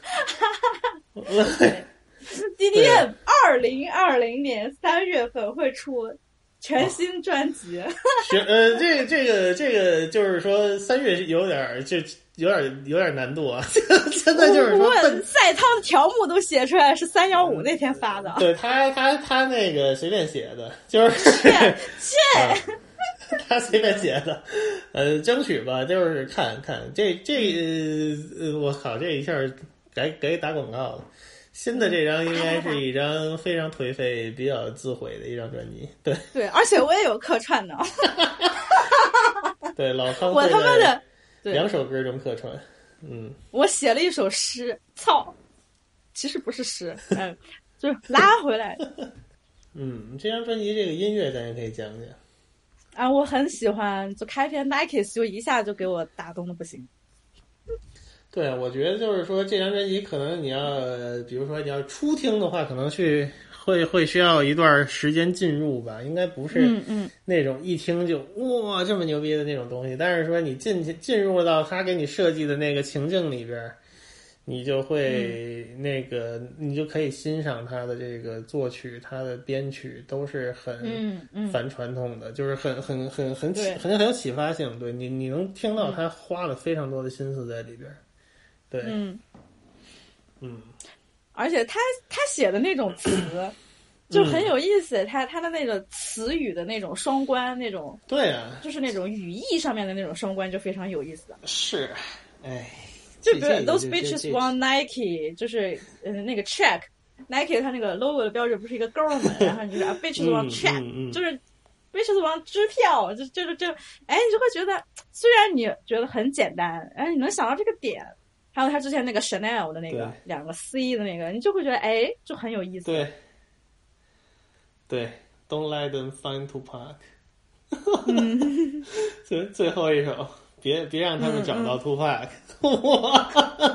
的。 DDM 2020年3月份会出全新专辑。 这个就是说3月有点难度啊。现在就是说赛涛的条目都写出来是315那天发的。 对，他那个随便写的，就是他随便写的。争取吧，就是看看这我靠，这一下该打广告了。 新的这张应该是一张非常颓废、比较自毁的一张专辑。对对，而且我也有客串的。 对，老康我他妈的 2首歌中客串。 我写了一首诗，操，其实不是诗，就是拉回来的。 这张专辑这个音乐咱也可以讲讲啊，我很喜欢，就开篇 Nike 就一下就给我打动的不行。 对，我觉得就是说这张专辑可能你要，比如说你要初听的话，可能会需要一段时间进入吧，应该不是那种一听就哇这么牛逼的那种东西。但是说你进入到他给你设计的那个情境里边，你就会你就可以欣赏他的这个作曲，他的编曲都是很反传统的，就是很有启发性。对，你能听到他花了非常多的心思在里边。对， 而且他写的那种词就很有意思，他的那个词语的那种双关，那种对啊， 就是那种语义上面的那种双关就非常有意思。 是， 就比如 those bitches want Nike， 就是那个 check Nike 它那个 logo 的标志不是一个勾吗？然后你就是 bitches want check，就是 bitches want 支票，就你就会觉得，虽然你觉得很简单，你能想到这个点。还有他之前那个 Chanel 的那个2个 C 的那个，你就会觉得就很有意思。 对 ，Don't let them find Tupac。最后一首，别让他们找到 Tupac，哇，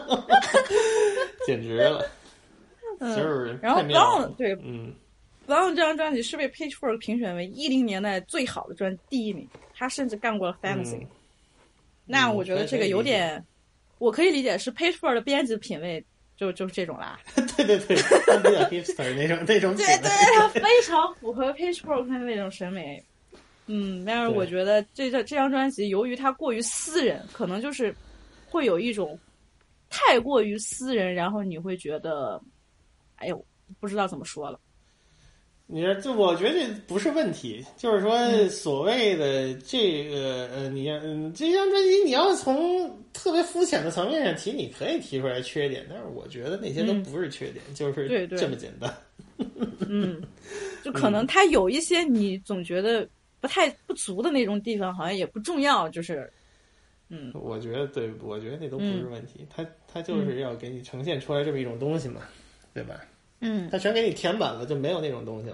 简直了，就是然后太妙了。 对，Blonde 这张专辑是被 Pitchfork 评选为10年代最好的第1名，他甚至干过了 Fantasy。那我觉得这个有点。我可以理解是 Pitchfork 的编辑品味就是这种啦。 对，他比较 hipster 那种品味。 对，他非常符合 Pitchfork 的那种审美。但是我觉得这张专辑由于它过于私人，可能就是会有一种太过于私人，然后你会觉得，不知道怎么说了。 你说，就我觉得这不是问题，就是说所谓的这个这张专辑你要从特别肤浅的层面上提，你可以提出来缺点，但是我觉得那些都不是缺点，就是这么简单。 就可能它有一些你总觉得不足的那种地方，好像也不重要，就是我觉得那都不是问题，它就是要给你呈现出来这么一种东西嘛，对吧？他全给你填满了，就没有那种东西了。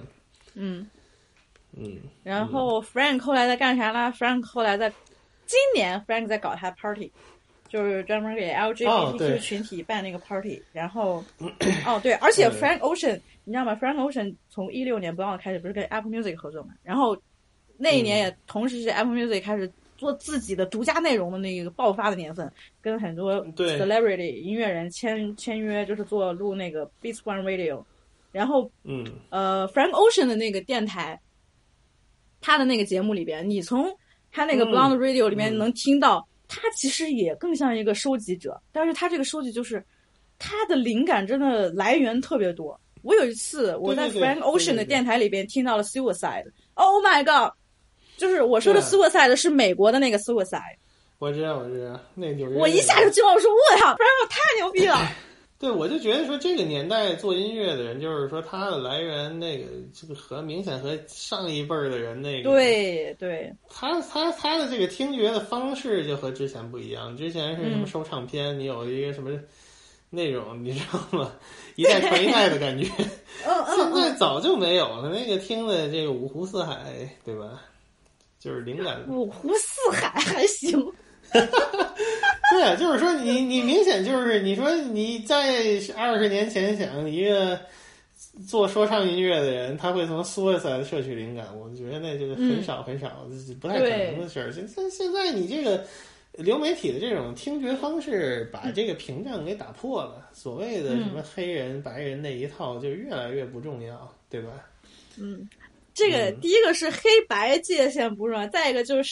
然后 Frank 后来在干啥呢 ？Frank 后来今年 Frank 在搞他 party， 就是专门给 LGBTQ 群体办那个 party。然后，对，而且 Frank Ocean， 你知道吗 ？Frank Ocean 从16年不要开始不是跟 Apple Music 合作嘛？然后那一年也同时是 Apple Music 开始做自己的独家内容的那个爆发的年份，跟很多 celebrity 音乐人签约，就是录那个 Beats One Radio。然后Frank Ocean 的那个电台，他的那个节目里边，你从他那个 Blonde Radio 里面能听到，他其实也更像一个收集者，但是他这个收集就是他的灵感真的来源特别多。我有一次我在 Frank Ocean 的电台里边听到了 Suicide，Oh my god！ 就是我说的 Suicide 是美国的那个 Suicide。 我知道，那纽约。 我一下就惊了，我说我操 ，Frank 太牛逼了。 对，我就觉得说这个年代做音乐的人，就是说他的来源这个明显和上一辈儿的人对，他的这个听觉的方式就和之前不一样。之前是什么收唱片，你有一个什么那种，你知道吗？一代传一代的感觉。现在早就没有了，那个听的这个五湖四海，对吧？就是灵感。 五湖四海还行。 对啊，就是说你明显就是你说你在20年前想一个做说唱音乐的人，他会从 Suicide 摄取灵感，我觉得那就是很少，不太可能的事儿。现在你这个流媒体的这种听觉方式，把这个屏障给打破了。所谓的什么黑人、白人那一套，就越来越不重要，对吧？ 这个第一个是黑白界限不重要，再一个就是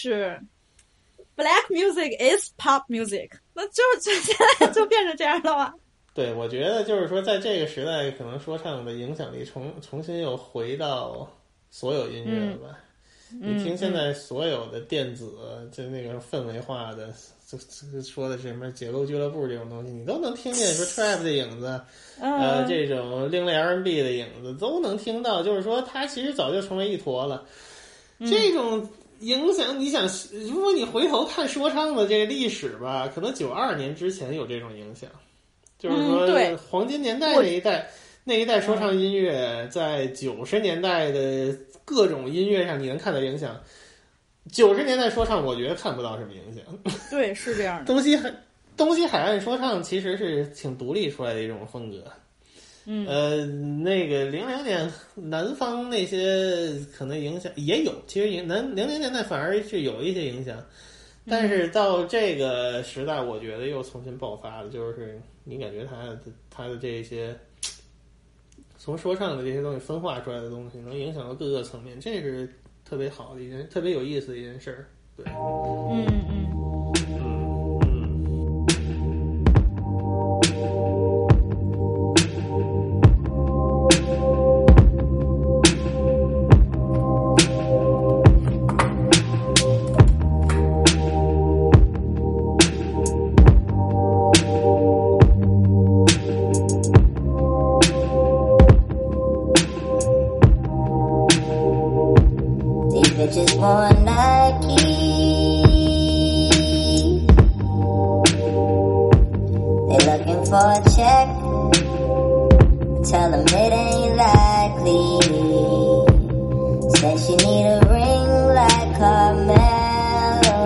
。Black music is pop music， 那就现在就变成这样了吗？ 对，我觉得就是说，在这个时代，可能说唱的影响力重新又回到所有音乐了吧。 你听现在所有的电子，就那个氛围化的，就说的是什么解构俱乐部这种东西，你都能听见说 trap 的影子，这种另类 R&B 的影子都能听到，就是说它其实早就成为一坨了。这种影响，你想，如果你回头看说唱的这个历史吧，可能92年之前有这种影响，就是说黄金年代那一代说唱音乐，在90年代的各种音乐上你能看到影响。90年代说唱我觉得看不到什么影响。 对，是这样的。 东西海岸说唱其实是挺独立出来的一种风格。那个00年南方那些可能影响也有，其实00年代反而是有一些影响，但是到这个时代，我觉得又重新爆发了，就是你感觉它的这些从说唱的这些东西分化出来的东西，能影响到各个层面，这是特别好的一件，特别有意思的一件事儿。对， Bitches want Nike. They looking for a check. Tell them it ain't likely. Said she need a ring like Carmelo.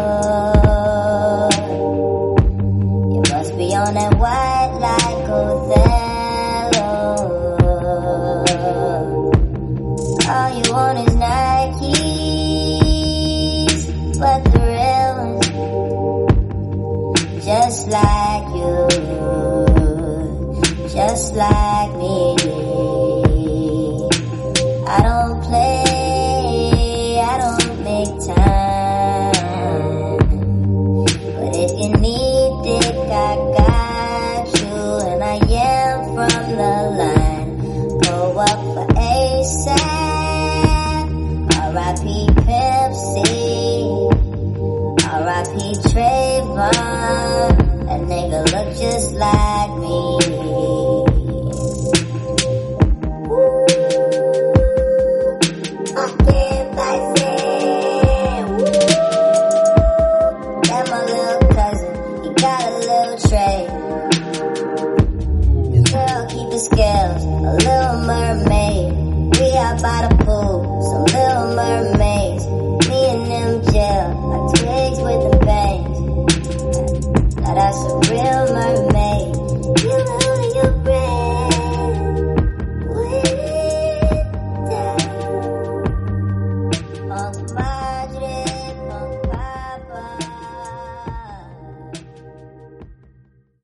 You must be on that white like Othello. All you want is Nike. But the real ones, just like you, just like me. I don't play, I don't make time. But if you need dick, I got you. And I am from the line. Go up for ASAP. R.I.P. Pimp C. R.I.P. Trayvon, that nigga look just like me. Woo, fucking Tyson. Woo, that my little cousin, he got a little tray. This girl keep the scales, a little mermaid. We out by the pool, some little mermaid.